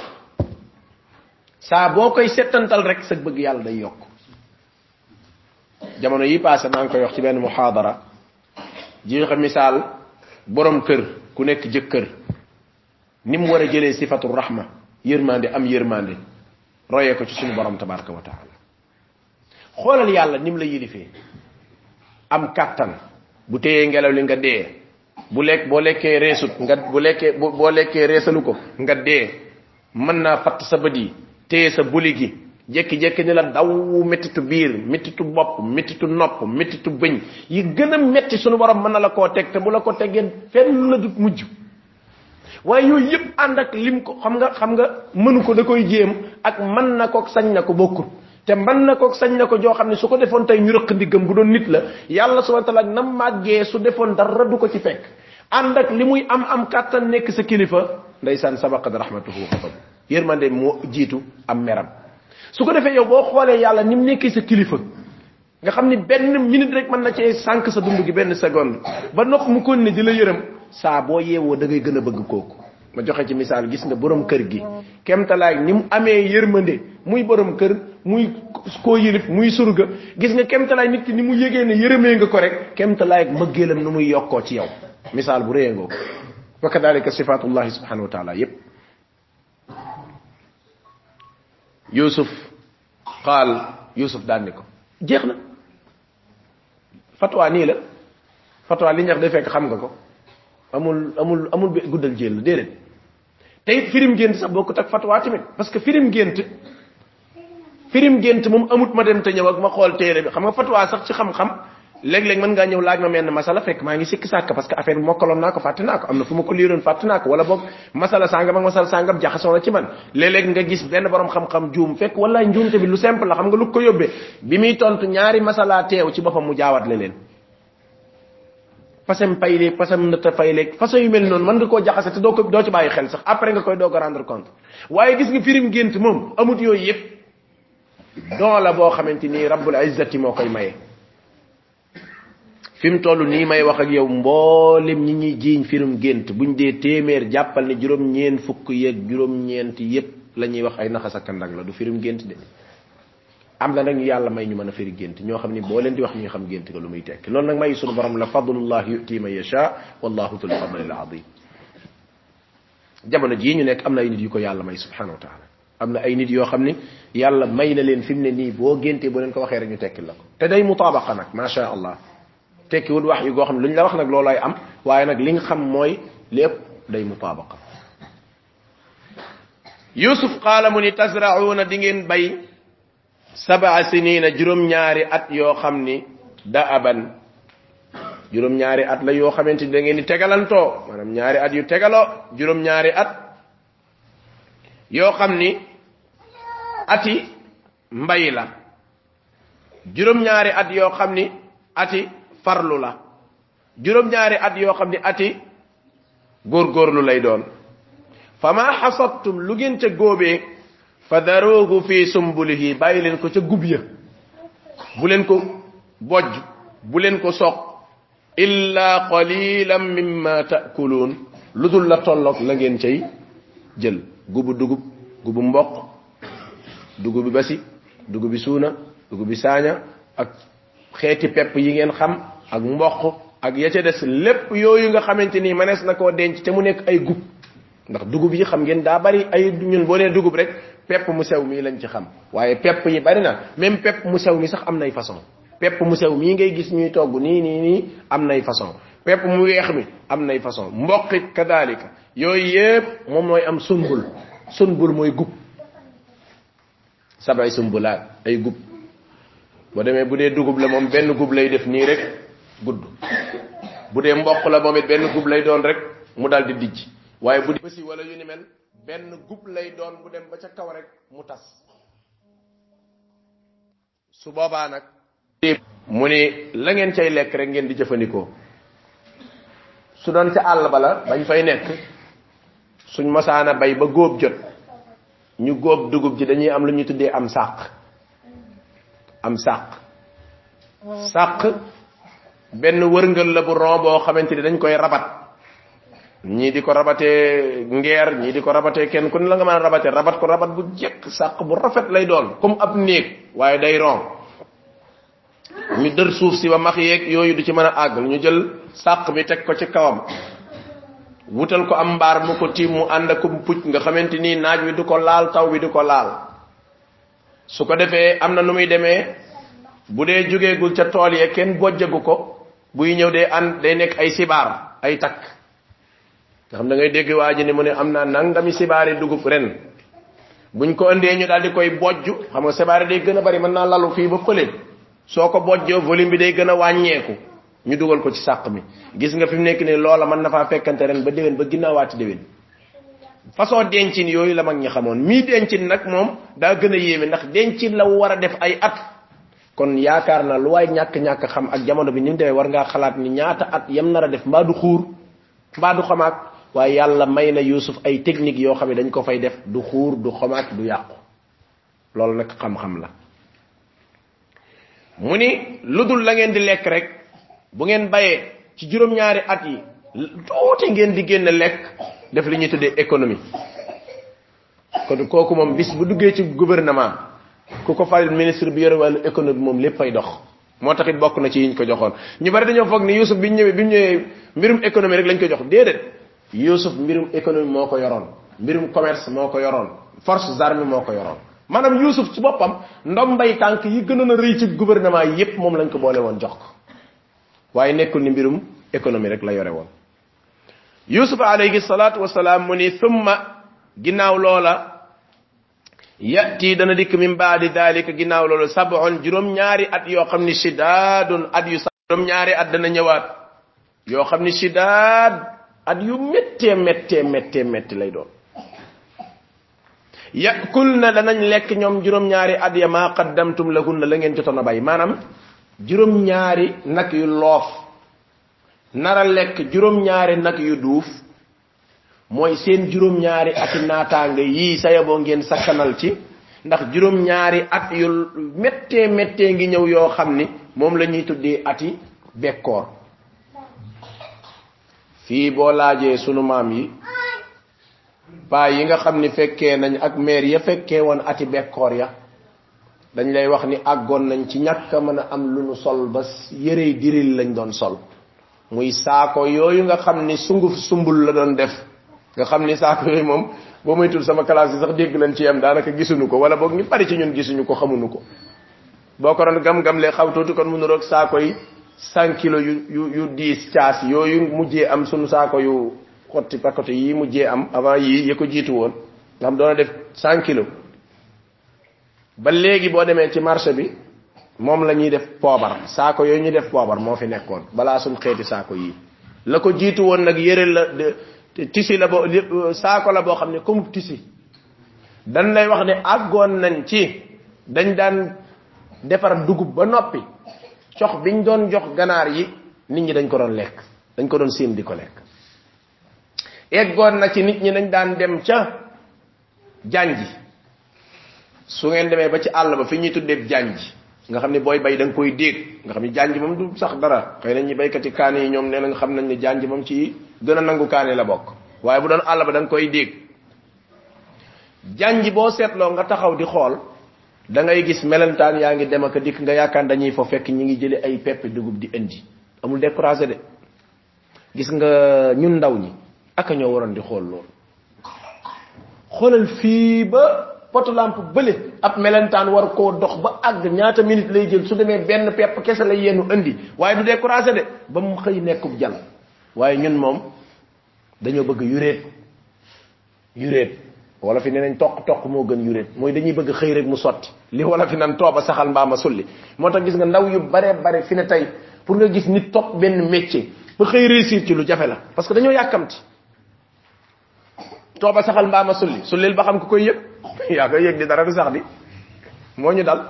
saa boo koy settantal rek sa bëgg yàlla day yokk jamono yi passé maa ngi koy wax ci benn muhadara ji joxe misaal borom kër ku nekk jëkkër ni mu war a jëlee sifatu rahma yërmande am yërmande royee ko ci suñu borom tabaraka wa taala xoolal yàlla nim la yilifee am kàttan bu téyee ngelaw li nga dee bu lekk boo lekkee reesut nga bu lekkee boo lekkee reesalu ko nga dee mën naa fatt sa bët yi téye sa buli gi jekki-jekki ni la daw mettitu biir mettitu bopp mettitu nopp mettitu bëñ yi gën a metti suñu borom mën na la koo teg te bu la ko teggee fenn la dut mujj waaye yooyu yëpp ànd ak lim ko xam nga mënu ko da koy jéem ak mën na ko sañ na ko bokkut te mën na ko sañ na ko joo xam ne su ko defoon tey ñu rëq ndiggam bu doon nit la yàlla subhanahu wa ta'ala nam màggee su defoon dara du ko ci fekk ànd ak li muy am kàttan nekk sa kilifa ndeysaan sabaqat rahmatuhu wa ghadab yërmande moo jiitu am meram su ko defee yow boo xoolee yàlla ni mu nekkee sa kilifa nga xam ni benn minute rek mën na cee sànq sa dund gi benn seconde ba nopp mu kon ne di la yërëm saa boo yeewoo da ngay gën a bëgg kooku ma joxe ci misaal gis nga borom kër gi kemtalaay ni mu amee yërmande muy borom kër muy koo yilif muy surga gis nga kemtalaay nit ki ni mu yëgee ne yërëmee nga ko rek kemtalaay mëggeelam nu muy yokkoo ci yow misaal bu réyee ngoo wa kadalika sifatullahi subhanahu wa taala yépp yusuf daan ni ko jeex na fatwa nii la fatwa li ñax day fekk xam nga ko amul guddal jël déedéet tey firim gént sax bokkut ak fatwa tamit parce que firim gént moom amut ma dem te ñëw ak ma xool téere bi xam nga fatwa sax ci xam-xam léeg-léeg mën ngaa ñëw laaj ma menn masala fekk maa ngi sikki sàkk parce que affaire bi mokkaloon naa ko fàtte naa ko am na fu ma ko liiroon fàtte naa ko wala boog masala sàngam ak masala sàngam jaxasoo na ci man léeg-léeg nga gis benn borom xam-xam juum fekk wallaay njuumte bi lu simple la xam nga lu ko yóbbee bi muy tontu ñaari masala teew ci boppam mu jaawat leen fasam payleeg fasam nëtta fayleeg façon yu mel noonu mën nga koo jaxase te doo ci bàyyi xel sax après nga koy doog a rendre compte waaye gis nga firim gént moom amut yooyu yëpp don la boo xamante ni rabbul izzati moo koy maye fi mu toll nii may wax ak yow mboolem ñi ñuy jiiñ firim gént buñ dee téeméer jàppal ne juróom-ñeent fukk yeeg juróom-ñeent yëpp la ñuy wax ay naxas ak ndang la du firim gént de am na nag ñu yàlla may ñu mën a firi gént ñoo xam ni boo leen di wax ñu xam gént ga lu muy tekki loolu nag may sunu borom la fadlullah yu'ti man yasha wallahu dhul fadlil azim jamono jii ñu nekk am na ay nit yu ko yàlla may subhanahu wa ta'ala am na ay nit yoo xam ni yàlla may na leen fi mu ne nii boo géntee boo leen ko waxee rek ñu tekkil la ko te day mutaabaqa nag ma sha allah tekki wut wax yu goo xam ne lu ñu la wax nag loolay am waaye nag li nga xam mooy lépp day mutaabaqa yusuf qaala mu ni tasra'una di ngeen bay 7 sinina juróom-ñaari at yoo xam ni da'aban juróom-ñaari at la yoo xamante ni da ngeen di tegalantoo maanaam ñaari at yu tegaloo juróom-ñaari at yoo xam ni ati mbay la juróom-ñaari at yoo xam ni ati farlu la juróom-ñaari at yoo xam ni ati góorgóorlu lay doon fama hasadtum lu ngeen ca góobee fadaruhu fi sumbulihi bàyyi leen ko ca gub ya bu leen ko bojj bu leen ko soq illa qalilan mimma ta'kulun ludul la tolloog la ngeen cay jël gubu dugub gubu mboq dugubi basi dugubi suuna dugubi saaña ak xeeti pepp yi ngeen xam ak mboq ak ya ca des lépp yooyu nga xamante ni manees na koo denc te mu nekk ay gub ndax dugub yi xam ngeen daa bari ay ñun boo nee dugub rek pepp mu sew mii lañ ci xam waaye pepp yi bari na même pepp mu sew mi sax am nay façon pepp mu sew mii ngay gis ñuy togg nii am nay façon pepp mu weex mi am nay façon mboqit kadalika yooyu yépp moom mooy am sunbul mooy gub sabay sumbulaat ay gub boo demee bu dee dugub la moom benn gub lay def nii rek gudd bu dee mboq la moom it benn gub lay doon rek mu dal di dijj waaye bu dee bësi wala yu ni mel benn gub lay doon bu dem ba ca kaw rek mu tas su boobaa nag mu ni la ngeen cay lekk rek ngeen di jëfandikoo su doon ca àll ba la bañ fay nekk suñ mosaana bay ba góob jot ñu góob dugub ji dañuy am lu ñu tuddee am sàq benn wërngal la bu ron boo xamante ni dañ koy rabat ñii di ko rabatee ngeer ñii di ko rabatee kenn ku ne la nga mën a rabat ko rabat bu jekk sàq bu rafet lay doon comme ab néeg waaye day ron ñu dër suuf si ba max yeeg yooyu du ci mën a àgg ñu jël sàq bi teg ko ci kawam wutal ko am mbaar mu ko tiim mu ànd ak pucc nga xamante ni naaj wi du ko laal taw bi du ko laal su ko defee am na nu muy demee bu dee jógeegul ca tool ya kenn bojjagu ko buy ñëw day nekk ay sibaar ay takk nga xam da ngay dégg waa ji ni mu ne am naa nangami sibaari dugub ren buñ ko indee ñu daal di koy bojj xam nga sibaari day gën a bari mën naa lalu fii ba fële soo ko bojjoo volume bi day gën a wàññeeku ñu dugal ko ci sàq mi gis nga fi mu nekk ni loola mën na faa fekkante ren ba déwén ba ginnaawaati déwén façon dencin yooyu la mag ñi xamoon mii dencin nag moom daa gën a yéeme ndax dencin la war a def ay at kon yaakaar na lu waay ñàkk xam ak jamono bi ni mu demee war ngaa xalaat ni ñaata at yam nar a def mbaa du xuur mbaa du xamaak waaye yàlla may na Yuusuf ay technique yoo xam ne dañ ko fay def du xuur du xamaak du yàqu loolu nag xam-xam la mu ni lu dul la ngeen di lekk rek bu ngeen bayee ci juróom-ñaari at yi tuuti ngeen di génn lekk def li ñuy tuddee économie kon kooku moom bis bu duggee ci gouvernement ku ko fal ministre bi yore wàllu économie moom lépp fay dox moo taxit bokk na ci yiñ ko joxoon ñu bari dañoo foog ni Yuusuf bi mu ñëwee mbirum économie rek lañ ko jox déedéet Yuusuf mbirum économie moo ko yoroon mbirum commerce moo ko yoroon forces armées moo ko yoroon maanaam Yuusuf ci boppam ndombay tànk yi gënoon a rëy ci gouvernement yi yépp moom lañ ko boole woon jox ko waaye nekkul ni mbirum économie rek la yore woon Yuusuf alayhi salaatu wasalaam mu ni thumma ginnaaw loola yati dana dikk min baadi dalika ginnaaw loolu sab'un juróom-ñaari at yoo xam ni shidaadun at yu juróom-ñaari at dana ñëwaat yoo xam ni shidaad at yu méttee lay doon yakulna danañ lekk ñoom juróom-ñaari at ya maa qaddamtum lahunna la ngeen jotoon a bay maanaam juróom-ñaari nag yu loof nara lekk juróom-ñaari nag yu duuf mooy seen juróom-ñaari ati naataange yii sayaboo ngeen sakkanal ci ndax juróom-ñaari at yu méttee ngi ñëw yoo xam ni moom la ñuy tuddee ati bekkoor fii boo laajee sunu maam yi paa yi nga xam ni fekkee nañ ak meer ya fekkee woon ati bekkoor ya dañ lay wax ni àggoon nañ ci ñàkk a mën a am lu nu sol ba yërey diril lañ doon sol muy saako yooyu nga xam ni sunguf sumbul la doon def nga xam ni saako yooyu moom boo moytul sama classe yi sax dégg nañ ci yam daanaka gisuñu ko wala boog ñu bari ci ñun gisuñu ko xamuñu ko boo ko doon gam-gam lee xaw tuuti kon mu nuroog saako yi 100 kilos yu 10 caas yooyu mujjee am sunu saako yu xotti pakote yi mujjee am avant yii ya ko jiitu woon nga xam doona def 100 kilos ba léegi boo demee ci marché bi moom la ñuy def poobar saako yooyu ñu def poobar moo fi nekkoon balaa suñ xeeti saako yii la ko jiitu woon nag yëre la tisi la bo saako la boo xam ne comme tisi dañ lay wax ne àggoon nañ ci dañ daan defar dugub ba noppi cox biñ doon jox ganaar yi nit ñi dañ ko doon lekk dañ ko doon séen di ko lekk eggoon na ci nit ñi dañ daan dem ca janji su ngeen demee ba ci àll ba fi ñuy tuddee janji nga xam ne booy bay da nga koy dégg nga xam ne janji moom du sax dara xëy na ñi baykati kaane yi ñoom nee nañ xam nañ ne janji moom ci gën a nangu kaane la bokk waaye bu doon àll ba da nga koy dégg janji boo seetloo nga taxaw di xool da ngay gis melentaan yaa ngi dem ak dikk nga yaakaar dañuy fa fekk ñi ngi jële ay pepp dugub di indi amul découragé de gis nga ñun ndaw ñi aka ñoo waroon di xool loolu xoolal fii ba poto lampe bële ab melentaan war koo dox ba àgg ñaata minute lay jël su demee benn pepp kese lay yenu indi waaye du découragé de ba mu xëy nekkub jal waaye ñun moom dañoo bëgg yuréet wala fi nenañ tok moo gën yuréet mooy dañuy bëgg xëy rek mu sotti li wala fi nan tooba saxal mbaama sulli moo tax gis nga ndaw yu bare fi ne tey pour nga gis nit topp benn métier ba xëy réussir ci lu jafe la parce que dañoo yàkkamti tooba saxal mbaama sullil ba xam ko koy yëg yaa koy yëg di dara du sax di moo ñu dal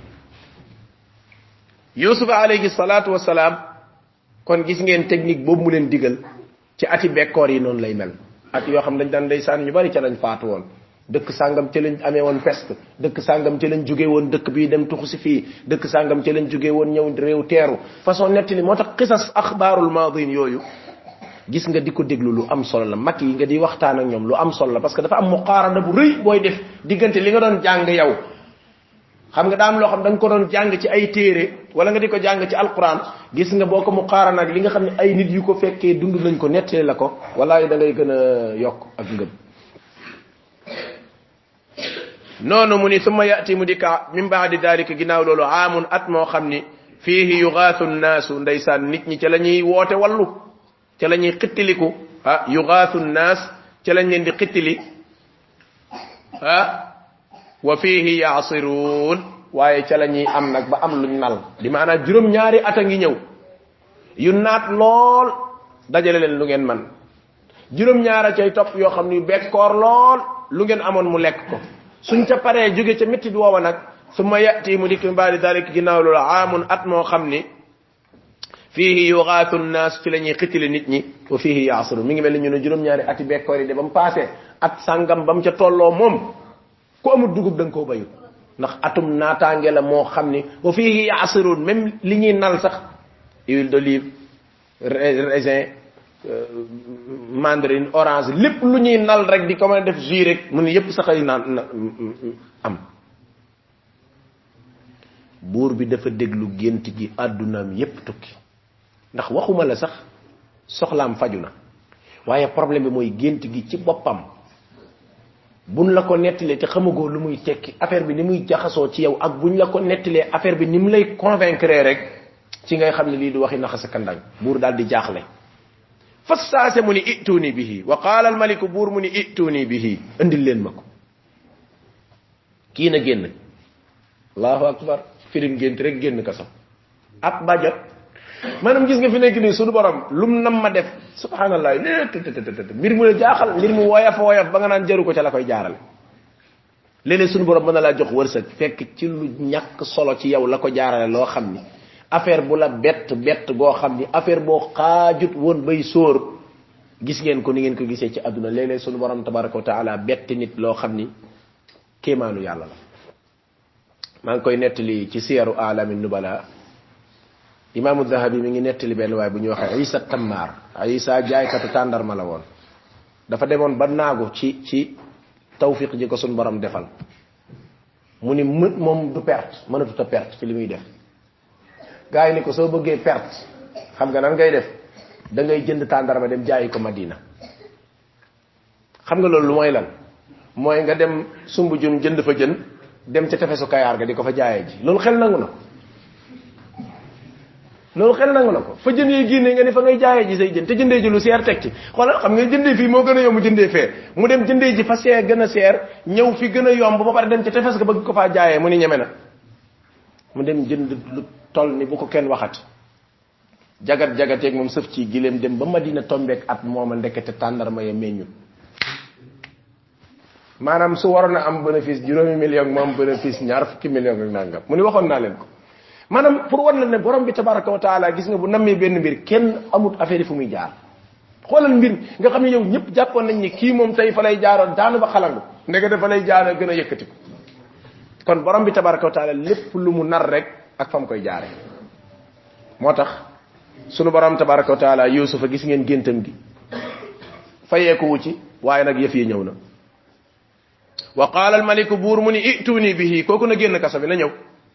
yusuf alayhi salatu wassalam kon gis ngeen technique boobu mu leen digal ci ati bekkoor yi noonu lay mel at yoo xam dañ daan ndeysaan ñu bari ca lañ faatu woon dëkk sàngam ca lañ amee woon peste dëkk sàngam ca lañ jóge woon dëkk bii dem tuxu si fii dëkk sàngam ca lañ jóge woon ñëw réew teeru façon nettali moo tax qisas axbaarul maadin yooyu gis nga di ko déglu lu am solo la mag yi nga di waxtaan ak ñoom lu am solo la parce que dafa am muqaarana bu rëy booy def diggante li nga doon jàng yow xam nga daam loo xam da nga ko doon jàng ci ay téere wala nga di ko jàng ci alquran gis nga boo ko muqaarana ak li nga xam ne ay nit yu ko fekkee dund nañ ko nettali la ko walaay da ngay gën a yokk ak ngëm noonu mu ni summa yati mu dika min baadi dalika ginnaaw loolu aamun at moo xam ni fiihi yugaathu nnaasu ndeysaan nit ñi ca la ñuy woote wallu ca la ñuy xittiliku yugaathu nnaas ca lañ leen di xittili wa fiihi yaasiruun waaye ca la ñuy am nag ba am luñ nal di maanaam juróom-ñaari at a ngi ñëw yu naat lool dajale leen lu ngeen man juróom-ñaara cay topp yoo xam ni bekkoor lool lu ngeen amoon mu lekk ko suñ ca paree jóge ca métti woowa nag summa yati mu dikk mbaadi dalik ginnaaw loolu aamun at moo xam ni fiihi yugaathu nnaas ci la ñuy xittili nit ñi wa fiihi yaasiruun mi ngi mel ni ñu ne juróom-ñaari ati bekkoor yi de ba mu passé at sàngam ba mu ca tolloo moom ku amul dugub da nga koo bayut ndax atum naataange la moo xam ni wa fiihi yaasiruun même li ñuy nal sax huile d'olive raisin mandarine orange lépp lu ñuy nal rek di ko mën a def jus rek mu ne yépp sax ay naan am buur bi dafa déglu gént gi àddunaam yépp tukki ndax waxuma la sax soxlaam faju na waaye problème bi mooy gént gi ci boppam buñ la ko nettalee te xamagoo lu muy tekki affaire bi ni muy jaxasoo ci yow ak buñ la ko nettalee affaire bi ni mu lay convaincre rek ci ngay xam ne lii du waxi naxa sa kandañ buur daal di jaaxle fassaase mu ni ituni bihi wa qaala al maliku buur mu ni ituni bihi andil leen ma ko kii na génn allahu akbar firim gént rek génn kasam ab ba jot maanaam gis nga fi nekk nii suñu borom lum nam ma def subhanallah mbir mu la jaaxal mbir mu woyof ba nga naan jaru ko ca la koy jaarale léeg-léeg suñu borom mën na laa jox wërsëg fekk ci lu ñàkk solo ci yow la ko jaarale loo xam ni affaire bu la bett goo xam ni affaire boo xaajut woon bay sóor gis ngeen ko ni ngeen ko gisee ci àdduna léeg-léeg suñu borom tabaraka wa taala bett nit loo xam ni kéemaanu yàlla la maa ngi koy nettali ci siyaru alami nubala imaamu Dahabi mi ngi nettali benn waaye bu ñuy waxee Isa Tammar Isa jaaykatu tàndarma la woon dafa demoon ba naagu ci tawfiq ji ko suñu borom defal mu ni moom du perte mënatut a perte ci li muy def gars yi ni ko soo bëggee perte xam nga nan ngay def da ngay jënd tàndarma dem jaayi ko Madina xam nga loolu lu mooy lan mooy nga dem sumbu jun jënd fa jën dem ca tefesu Kayaar ga di ko fa jaayee ji loolu xel nangu na loolu xel nangu na ko fa jën yi génne nga ni fa ngay jaayee ji say jën te jëndee ji lu seer teg ci xoolal xam nga jëndee fii moo gën a yomb jëndee fee mu dem jëndee ji fa seer gën a seer ñëw fi gën a yomb ba pare dem ca tefes ga bëgg ko faa jaayee mu ni ñeme na mu dem jënd lu toll ni bu ko kenn waxat jagat-jagateeg moom sëf ci gileem dem ba Madina tombeek at mooma ndekete tàndarma ya meññut maanaam su waroon a am bénéfice juróomi million moom bénéfice ñaar fukki million ak nangam mu ni waxoon naa leen ko maanaam pour war la ne borom bi tabaraka wa taala gis nga bu nammee benn mbir kenn amut affaire yi fu muy jaar xoolal mbir nga xam ne yow ñëpp jàppoon nañ ni kii moom tey fa lay jaaroon daanu ba xalangu ndeke dafa lay jaara gën a yëkkati ko kon borom bi tabaraka wa taala lépp lu mu nar rek ak fa mu koy jaare moo tax sunu borom tabaraka wa taala yusufa gis ngeen géntam gi fayeeku wu ci waaye nag yëf yi ñëw na wa qaala al maliku buur mu ni ituni bihi kooku na génn kaso bi na ñëw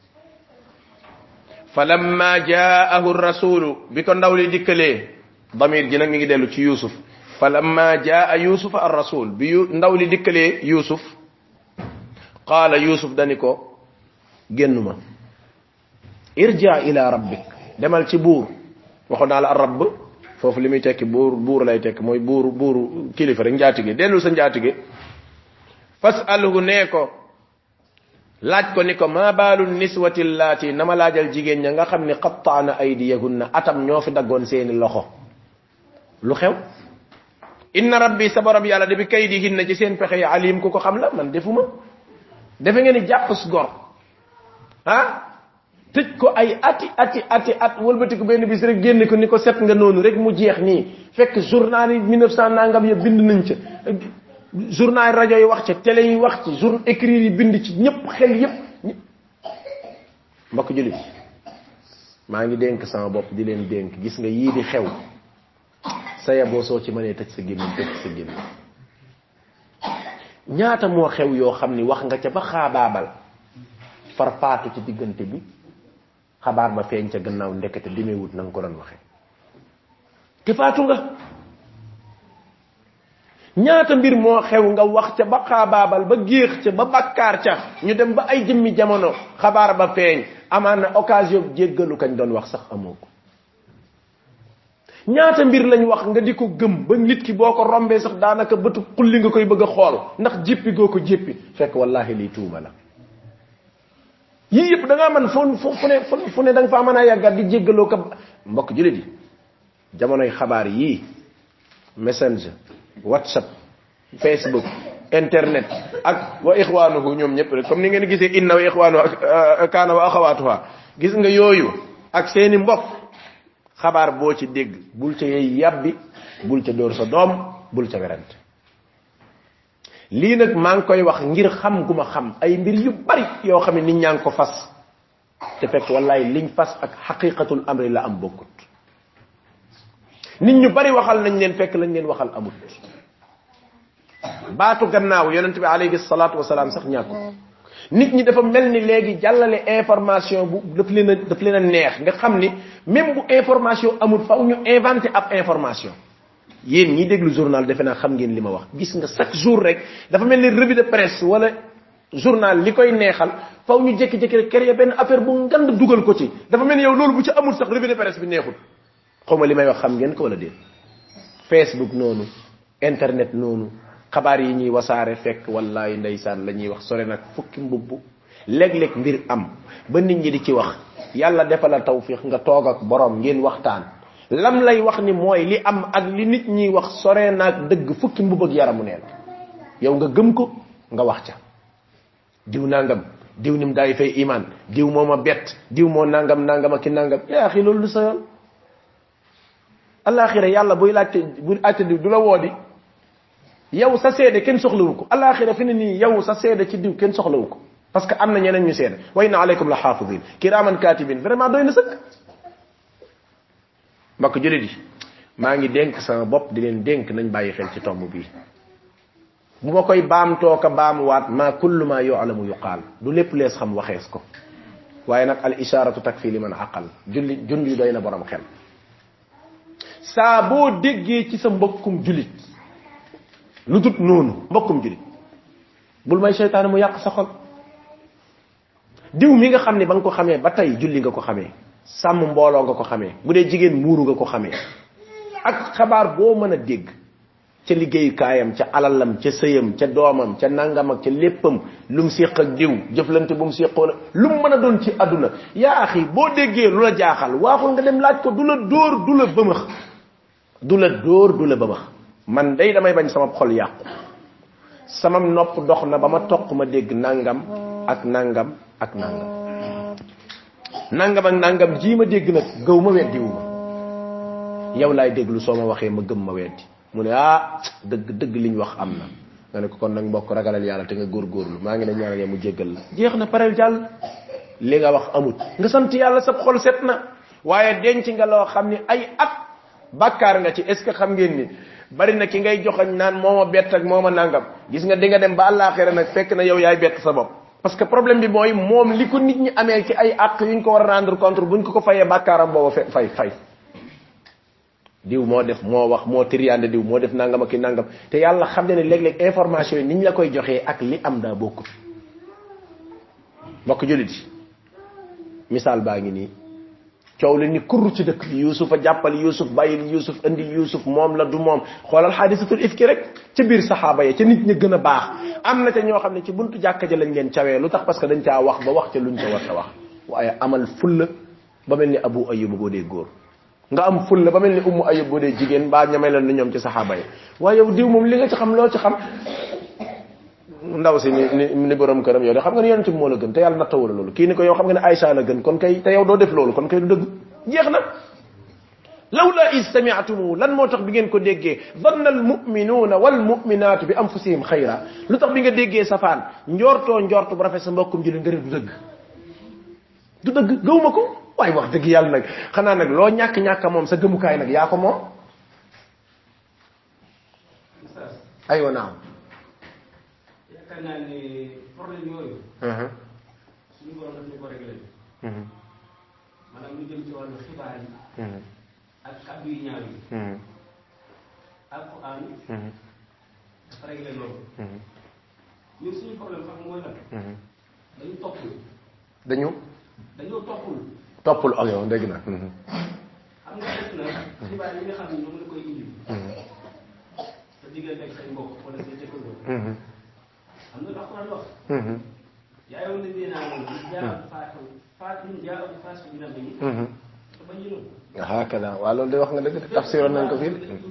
falamma jaahu rasulu bi ko ndaw li dikkalee damir ji nag mi ngi dellu ci yusuf falamma jaa yusuf ar rasul bi ndaw li dikkalee yusuf qaala yusuf dani ko génnuma irja ila rabbik demal ci buur waxoon naa la ar rabb foofu li muy tekki buur lay tekki mooy buur kilifa rek njaatige dellu sa njaatige fasalhu nee ko laaj ko ni ko ma baalu niswati llaati nama laajal jigéen ña nga xam ne qattaana aydiyahunna atam ñoo fi daggoon seeni loxo lu xew inna rabbi sa borom yàlla de bi kaydihinna ci seen pexe yi alim ku ko xam la man defuma defe ngeen ni jàpp su gor tëj ko ay ati at wëlbati ko benn bis rek génn ko ni ko set nga noonu rek mu jeex nii fekk journal yi 1900 nangam ya bind nañ ca journal rajo yi wax ca télé yi wax ci journal écrit yi bind ci ñëpp xel yëpp mbokk julit maa ngi dénk sama bopp di leen dénk gis nga yii di xew sa yaboo soo ci mënee tëj sa gémmiñ tëj sa gémmiñ ñaata moo xew yoo xam ni wax nga ca ba xaabaabal far faatu ci diggante bi xabaar ba feeñ ca gannaaw ndekete dimeewut na nga ko doon waxee te faatu nga ñaata mbir moo xew nga wax ca ba xaabaabal ba géex ca ba bakkaar ca ñu dem ba ay jëmmi jamono xabaar ba feeñ amaan na occasion jéggalu kañ doon wax sax amoo ko ñaata mbir lañ wax nga di ko gëm ba nit ki boo ko rombee sax daanaka bëtu xulli nga koy bëgg a xool ndax jéppi goo ko jéppi fekk wallahi lii tuuma la yii yëpp da ngaa man fu ne da nga faa mën a yàggat di jéggaloo ko mbokk julit yi jamonoy xabaar yii messenger whatsapp facebook internet ak wa ixwaanuhu ñoom ñëpp rek comme ni ngeen gisee inna wa ixwaanuhu ak kaana wa axawaatuha gis nga yooyu ak seeni mbokk xabaar boo ci dégg bul ca yey yàbbi bul ca dóor sa doom bul ca werante lii nag maa ngi koy wax ngir xam gu ma xam ay mbir yu bari yoo xam ne nit ñaa ngi ko fas te fekk wallaay liñ fas ak xaqiqatul amri la am bokkut nit ñu bari waxal nañ leen fekk lañ leen waxal amut baatu gannaaw yonent bi alayhi salaatu wasalaam sax ñàkk nit ñi dafa mel ni léegi jàllale information bu daf leen a neex nga xam ni même bu information amul faw ñu inventé ab information yéen ñi déglu journal defe naa xam ngeen li ma wax gis nga chaque jour rek dafa mel ni revue de presse wala journal li koy neexal faw ñu jékki-jékki rek créer benn affaire bu ngand dugal ko ci dafa mel ni yow loolu bu ci amul sax revue de presse bi neexul xawma li may wax xam ngeen ko wala déet facebook noonu internet noonu xabaar yi ñuy wasaare fekk wallahi ndeysaan la ñuy wax sore nag fukki mbubbu léeg-léeg mbir am ba nit ñi di ci wax yàlla defal la tawfiq nga toog ak borom ngeen waxtaan lam lay wax ni mooy li am ak li nit ñi wax sore naag dëgg fukki mbub ak yaramu neen yow nga gëm ko nga wax ca diw nangam diw nim daay fay iman diw moo ma bett diw moo nangam ak ki nangam yaa axi loolu lu sa yoon alaxira yàlla buy laajte du la woodi yow sa seede kenn soxlawu ko alaxira fi ne nii yow sa seede ci diw kenn soxlawu ko parce que am na ñeneen ñu seede wa inna alaykum la xaafidin kiraman katibin vraiment doy na sëkk mbokk julit yi maa ngi dénk sama bopp di leen dénk nañ bàyyi xel ci tomb bii bu ma koy baamtoo ka baamuwaat ma kullu ma yu'lamu yuqaal du lépp lees xam waxees ko waaye nag al isharatu takfi liman aqal junli doy na borom xel saa boo déggee ci sa mbokkum julit lu dut noonu mbokkum julit bul may seytaane mu yàq sa xol diw mi nga xam ne ba nga ko xamee ba tey julli nga ko xamee sàmm mbooloo nga ko xamee bu dee jigéen muuru nga ko xamee ak xabaar boo mën a dégg ca liggéeyukaayam ca alalam ca sëyam ca doomam ca nangam ak ca léppam lu mu séq ak diw jëflante bu mu séqoon lu mu mën a doon ci àdduna yaa axi boo déggee lu la jaaxal waaxul nga dem laaj ko du la dóor du la bëmax du la dóor du la bëmax man day damay bañ sama xol yàqu sama nopp dox na ba ma toq ma dégg nangam ak nangam ak nangam nangam ak nangam ji ma dégg nag gëw ma weddiwu ma yow laay déglu soo ma waxee ma gëm ma weddi mu ne dëgg liñ wax am na nga ne ko kon nag mbokk ragalal yàlla te nga góorgóorlu maa ngi ne ñaanal mu jéggal la jeex na pareel jàll li nga wax amut nga sant yàlla sa xol set na waaye denc nga loo xam ni ay at bàkkaar nga ci est ce que xam ngeen ni bari na ki ngay joxañ naan moo ma bett ak moo ma nangam gis nga di nga dem ba àllaaxira nag fekk na yow yaay bett sa bopp parce que problème bi mooy moom li ko nit ñi amee ci ay àq yuñ ko war a rendre compte buñ ko fayee bàkkaaram booba fay diw moo def moo wax moo tiriande diw moo def nangam ak ki nangam te yàlla xam ne léeg-léeg information yi niñ la koy joxee ak li am daa bokkut mbokk jullit yi misaal baa ngi nii coow li ni kurru ci dëkk bi yusuf a jàppal yusuf bàyyil yusuf andi yusuf moom la du moom xoolal xaadisatul ifki rek ca biir saxaaba ya ca nit ñi gën a baax am na ca ñoo xam ne ci buntu jàkka ja lañ leen cawee lu tax parce que dañ caa wax ba wax ca luñ ca war a wax waaye amal fulla ba mel ni abu ayub boo dee góor nga am fulla ba mel ni ummu ayub boo dee jigéen mbaa ñamay leen ni ñoom ci saxaaba yi waaye yow diw moom li nga ci xam loo ci xam ndaw si ni borom këram yow de xam nga ni yonent bi moo la gën te yàlla nattawul loolu kii ni ko yow xam nga ne Aïcha la gën kon kay te yow doo def loolu kon kay du dëgg jeex na lawla is sami'tumu lan moo tax bi ngeen ko déggee dhanna al mu'minuna wal mu'minatu bi anfusihim khayra lu tax bi nga déggee safaan njortu bu rafet sa mbokkum julli nga du dëgg gëwuma ko waaye wax dëgg yàlla nag xanaa nag loo ñàkk moom sa gëmukaay nag yaa ko moom aywa naam yaakaar naa ne problème yooyu suñu borom daf ñu ko réglé maanaam lu jëm ci wàllu xibaar yi ak kàddu yu ñaaw yi alquran dafa réglé loolu ñun suñu problème xam mooy lan dañu toppul dañoo toppul ak yow dégg na xam nga def na xibaar yi nga xam ne ñoom la koy indi sa diggante ak say mbokk wala say jëkkandoo am na alquran wax yaa yow ne dina jaa faas bi na bayi te bañinu hakada waa loolu de wax nga dëgg tafsiroon nañ ko fii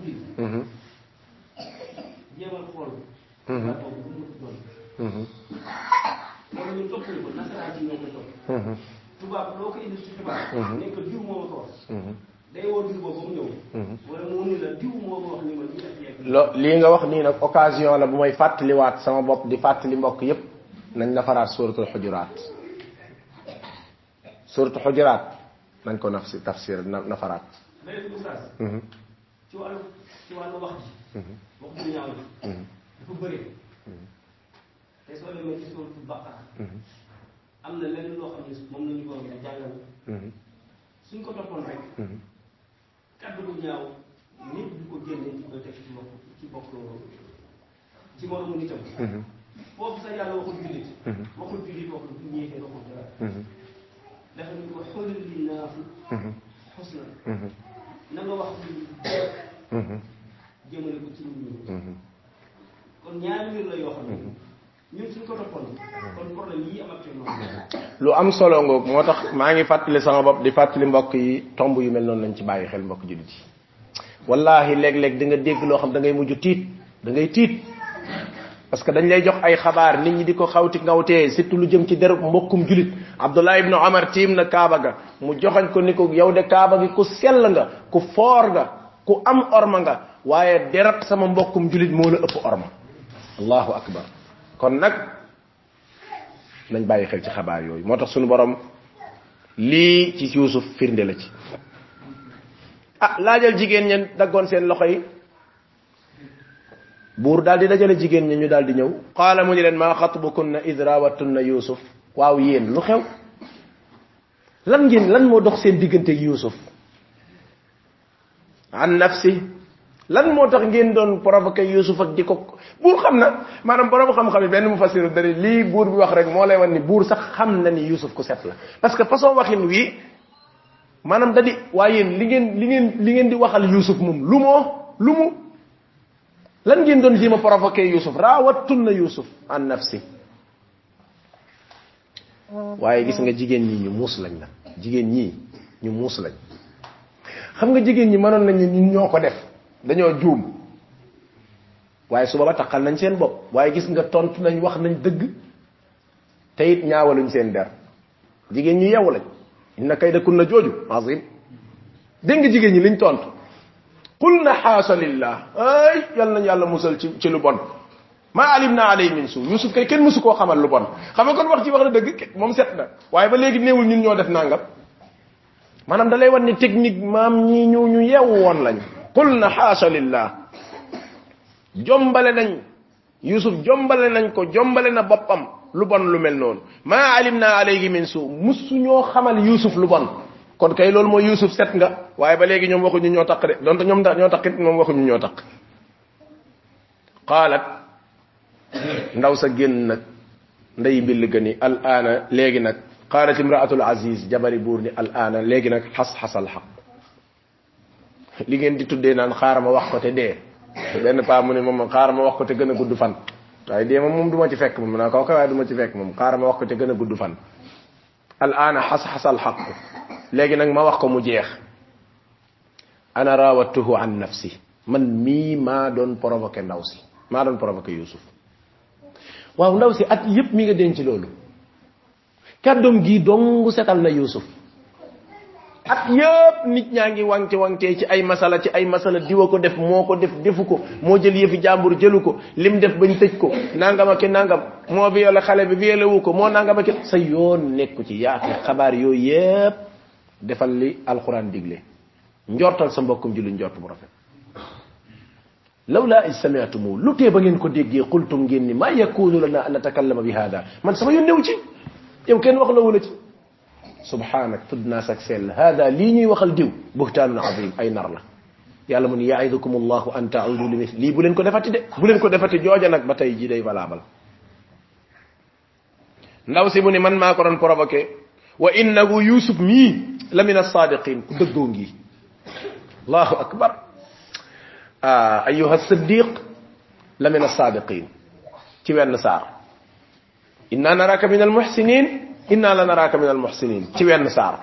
jéemal xool waa boobu bu mu doon loolu ñun toppuñu ko nasaraan ci ñoo ko topp tubaab loo ko indi ci xibaar ne ko diw moo ko wax day woo diw boobu mu ñëw wala mu ni la diw moo ko wax ni ma ñu def yeeg lii nga wax nii nag occasion la bu may fàttaliwaat sama bopp di fàttali mbokk yépp nañ nafaraat suratul xujuraat suratul xujuraat nañ ko tafsir nafaraat léegi oustaz ci wàllu wax ji wax ju ñaaw ji dafa bëri te soo demee ci suratul baqara am na lenn loo xam ne moom la ñu borom di jàngal suñ ko toppoon rek kaddu bu ñaaw nit du ko génne di ko def ci bokk ci moromu nitam foofu sa yàlla waxul jullit waxul ñeexee waxul dara dafa ñu ko xoolal li naafu xusna na nga wax lu jëmale ko ci nit ñi kon ñaari mbir la yoo xam ne ñun suñ ko toppoon kon problème yi am actuellement lu am solo ngoog moo tax maa ngi fàttali sama bopp di fàttali mbokk yi tomb yu mel noonu lañ ci bàyyi xel mbokk jullit yi wallahi léeg-léeg di nga dégg loo xam da ngay mujj tiit da ngay tiit parce que dañ lay jox ay xabaar nit ñi di ko xawti ngawtee surtout lu jëm ci derub mbokkum julit Abdullah ibn Omar tiim na kaaba ga mu joxañ ko ni ko yow de kaaba gi ku sell nga ku foor nga ku am orma nga waaye derab sama mbokkum julit moo la ëpp orma allahu akbar kon nag nañ bàyyi xel ci xabaar yooyu moo tax suñu borom lii ci Yuusuf firnde la ci laajal jigéen ñen daggoon seen loxo yi buur daal di dajale jigéen ñi ñu daal di ñëw qaala mu ni leen maa xatbukunna id raawattunna Yuusuf waaw yéen lu xew lan moo dox seen diggante ak Yuusuf an nafsi lan moo tax ngeen doon provoqué Yuusuf ak di ko buur xam na maanaam borom xam-xam yi benn mu fasiru dari lii buur bi wax rek moo lay wan ni buur sax xam na ni Yuusuf ku set la parce que façon waxin wi maanaam da di waaye yéen li ngeen di waxal Yuusuf moom lu mu lan ngeen doon jéem a provoqué Yuusuf raawattunna Yuusuf an nafsi waaye gis nga jigéen ñi ñu muus lañ la jigéen ñi ñu muus lañ xam nga jigéen ñi mënoon nañ ñun ñoo ko def dañoo juum waaye suba ba taxal nañ seen bopp waaye gis nga tontu nañ wax nañ dëgg te it ñaawaluñ seen der jigéen ñu yewu lañ inna kaydakunna jooju azim dégg nga jigéen ñi liñ tontu qulna xaasa lillah ay yal nañ yàlla musal ci lu bon ma alimna alay min su Yuusuf kay kenn musu koo xamal lu bon xam nga kon wax ci wax na dëgg moom set na waaye ba léegi néewul ñun ñoo def nangam maanaam da lay wan ni technique maam ñii ñu yeewu woon lañ qulna xaasa lillah jombale nañ Yuusuf jombale nañ ko jombale na boppam lu bon lu mel noonu ma alimna alayhi min su musu ñoo xamal Yuusuf lu bon kon kay loolu mooy Yuusuf set nga waaye ba léegi ñoom waxuñu ñoo taq de donte ñoom ñoo taqit moom waxuñu ñoo taq qaalat ndaw sa génn nag ndey mbill ga ni al aana léegi nag qaalat imraatul aziz jabari buur ni al aana léegi nag xas-xasal xaq li ngeen di tuddee naan xaaral ma wax ko te dee benn paa mu ne moom xaaral ma wax ko te gën a gudd fan waaye dee moom du ma ci fekk moom naa ko waaye du ma ci fekk moom xaaral ma wax ko te gën a gudd fan al aana xas-xasal xaq léegi nag ma wax ko mu jeex ana raawatuhu an nafsi man mii maa doon provoqué ndaw si maa doon provoqué Yuusuf waaw ndaw si at yépp mi nga denc loolu kàddoom gii dong setal na Yuusuf at yépp nit ñaa ngi wangte ci ay masala diwa ko def moo ko def defu ko moo jël yëfi jàmbur jëlu ko lim def bañ tëj ko nangam ak nangam moo violé xale bi violé wu ko moo nangam ak sa yoon nekku ci yaake xabaar yooyu yépp defal li alquran digle njortal sa mbokkum julli njort bu rafet lawla is sami'tumu lu tee ba ngeen ko déggee qultum ngeen ni ma yakunu lana an natakallama bi hada man sama yoon newu ci yow kenn wax la wala ci subhanak tudd naa sak sell hada lii ñuy waxal diw buhtaanun azim ay nar la yàlla mu ni ya'idukum allahu an ta'udu li lii bu leen ko defati de bu leen ko defati jooja nag ba tey ji day valable ndaw si mu ni man maa ko doon provoqué wa innahu yusuf mii la min as-sadiqin ku dëggoo ngi allahu akbar ayuha siddiq la min as-sadiqin ci wenn saar inna naraka min al-muhsinin inna la naraka min al-muhsinin ci wenn saar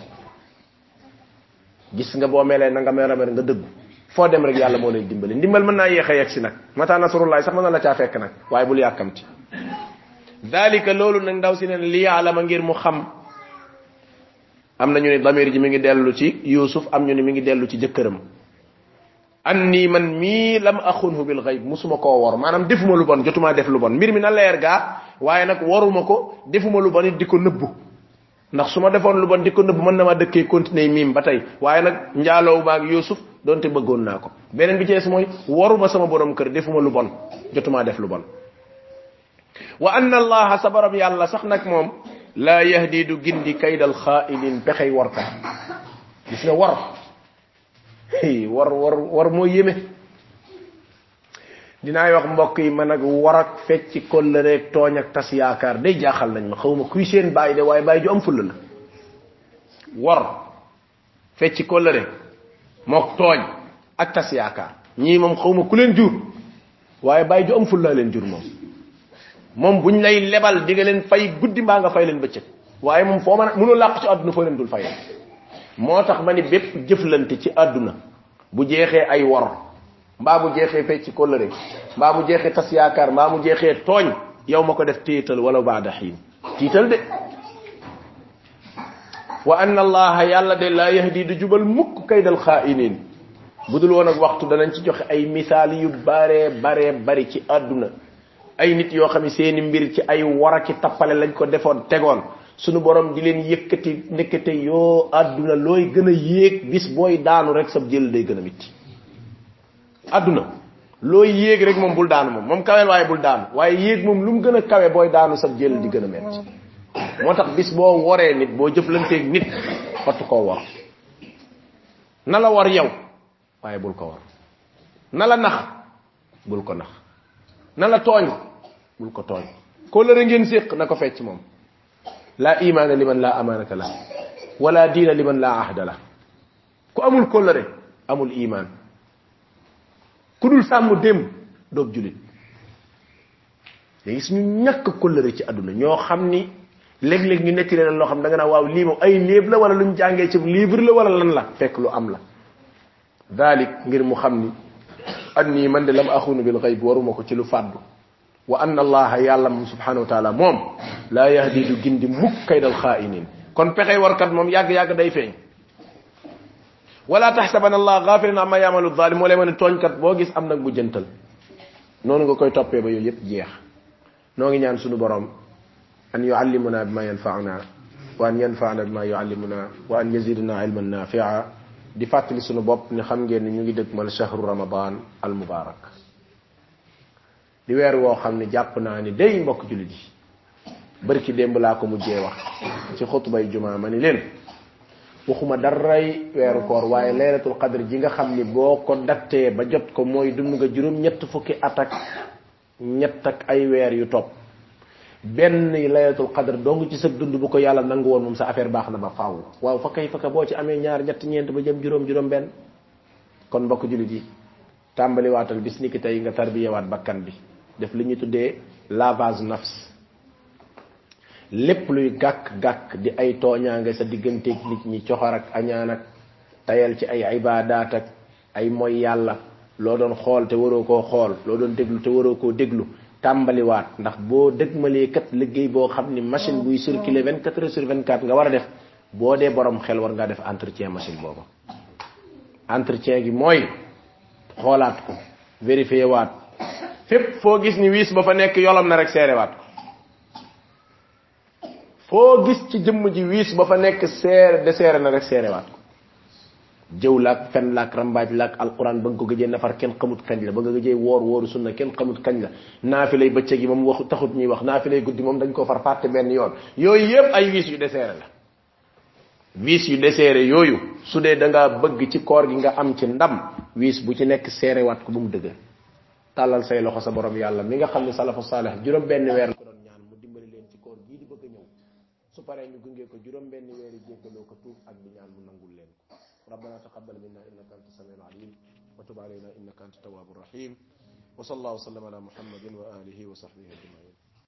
gis nga boo melee na nga mer nga dëggu foo dem rek yàlla moo lay dimbali ndimbal mën naa yéex a yegg si nag mata nasrullahi sax mën na la caa fekk nag waaye bul yàkkamti dalika loolu nag ndaw si neen li yaalama ngir mu xam am na ñu ne damir ji mi ngi dellu ci Yuusuf am ñu ne mi ngi dellu ci jëkkëram anni man mii lam axunhu bil ghaib musuma koo wor maanaam defuma lu bon jotuma def lu bon mbir mi na leer gaa waaye nag waruma ko defuma lu bon it di ko nëbbu ndax su ma defoon lu bon di ko nëbbu mën na ma dëkkee continuer miim ba tey waaye nag njaaloowu baag Yuusuf donte bëggoon naa ko beneen bi ci des mooy waruma sama borom kër defuma lu bon jotuma def lu bon wa anna allaha sa borom yàlla sax nag moom laa yahdi du gindi kaydal xaailin pexey warkat gis nga war moo yéeme dinaay wax mbokk yi man ak war ak fecc kóllëre tooñ ak tas yaakaar day jaaxal nañ ma xawma kuy seen bàyyi de waaye bàyyi ju am fulla la war fecc kóllëre mook tooñ ak tas yaakaar ñii moom xawma ku leen jur waaye bàyyi ju am fulla leen jur moom buñ lay lebal di nga leen fay guddi mbaa nga fay leen bëccëg waaye moom foo mën a mënoo làq ci àdduna foo leen dul fay moo tax ma ni bépp jëflante ci àdduna bu jeexee ay wor mbaa bu jeexee fecc kóllëre mbaa bu jeexee tas yaakaar mbaa mu jeexee tooñ yow ma ko def tiital wala baada xiin tiital de wa anna allaha yàlla de laa yahdi du jubal mukk kaydal xaa'iniin bu dul woon ak waxtu danañ ci joxe ay misaal yu bare bari ci àdduna ay nit yoo xam ne seeni mbir ci ay waraki tappale lañ ko defoon tegoon sunu borom di leen yëkkati nekkate yoo àdduna looy gën a yéeg bis booy daanu rek sab jël day gën a mitti àdduna looy yéeg rek moom bul daanu moom kawel waaye bul daanu waaye yéeg moom lu mu gën a kawe booy daanu sab jël di gën a metti moo tax bis boo woree nit boo jëflanteeg nit xottu koo war na la war yow waaye bul ko war na la nax bul ko nax na la tooñ bul ko tooñ kóllëre ngeen séq na ko fecc moom laa imaana liman laa amaanata la wala diina liman laa ahda la ku amul kóllëre amul imaan ku dul sàmm démb doob julit léegi suñu ñàkk kóllëre ci àdduna ñoo xam ni léeg-léeg ñu netti leen loo xam da nga naa waaw lii moom ay léeb la wala luñ jàngee ci livre la wala lan la fekk lu am la dalik ngir mu xam ni anni man de lam axunu bil ghaib waruma ko ci lu fàddu wa anna allaha yàlla moom subhanahu wa taala moom laa yahdi du gindi mukk kaydal xaa'iniin kon pexey warkat moom yàgg-yàgg day feeñ wala taxsabanna allah ghafilan amma ya'malu zalim moo lay ma ne tooñkat boo gis am nag bu jëntal noonu nga koy toppee ba yooyu yëpp jeex noo ngi ñaan sunu borom an yuallimuna bima yanfa'una wa an yanfa'una bima yuallimuna wa an yazidna ilman nafi'a di fàttali sunu bopp ni xam ngeen ni ñu ngi dëgmal shahru ramadan al mubarak di weer woo xam ne jàpp naa ni day mbokk jullit yi barki démb laa ko mujjee wax ci xutbay jumaa ma ni leen waxuma daray weeru koor waaye laylatul qadr ji nga xam ni boo ko dattee ba jot ko mooy dund nga juróom ñett fukki at ak ñett ak ay weer yu topp benn laylatul qadr dong ci sa dund bu ko yàlla nangu woon moom sa affaire baax na ba faaw waaw fa kay faka boo ci amee ñaar ñett ñeent ba jëm juróom benn kon mbokk julit yi tàmbali waatal bis ni ki tey nga tarbiyewaat bakkan bi def li ñu tuddee lavage nafs lépp luy gàkk-gàkk di ay tooñaange sa digganteeg nit ñi coxor ak añaan ak tayal ci ay ibaadaat ak ay mooy yàlla loo doon xool te waroo koo xool loo doon déglu te waroo koo déglu tàmbaliwaat ndax boo dëgmalee kat liggéey boo xam ni machine buy circuler 24 heures sur 24 nga war a def boo dee borom xel war ngaa def entretien machine boobu entretien gi mooy xoolaat ko vérifier waat fépp foo gis ni wiis ba fa nekk yolam na rek seerewaat ko foo gis ci jëmm ji wiis ba fa nekk seere na rek seerewaat ko jëw laak fen laak rambaaj laak alquran ba nga ko gëjee nafar kenn xamut kañ la ba nga gëjee wooru sunna kenn xamut kañ la naafilay bëccëg yi moom waxu taxut ñuy wax naafilay guddi moom dañ koo far fàtte benn yoon yooyu yépp ay wiis yu deseere la wiis yu deseere yooyu su dee da ngaa bëgg ci koor gi nga am ci ndam wiis bu ci nekk seerewaat ko bu mu dëgg tàllal say loxo sa borom yàlla mi nga xam ne salafu saalih juróom benn weer la ko doon ñaan mu dimbali leen ci koor gii di bëgg a ñëw su paree ñu gunge ko juróom benn weeri jéggaloo ko tuub ak di ñaan mu nangul leen ko ربنا تقبل منا انك انت السميع العليم وتب علينا انك انت التواب الرحيم وصلى الله وسلم على محمد واله وصحبه اجمعين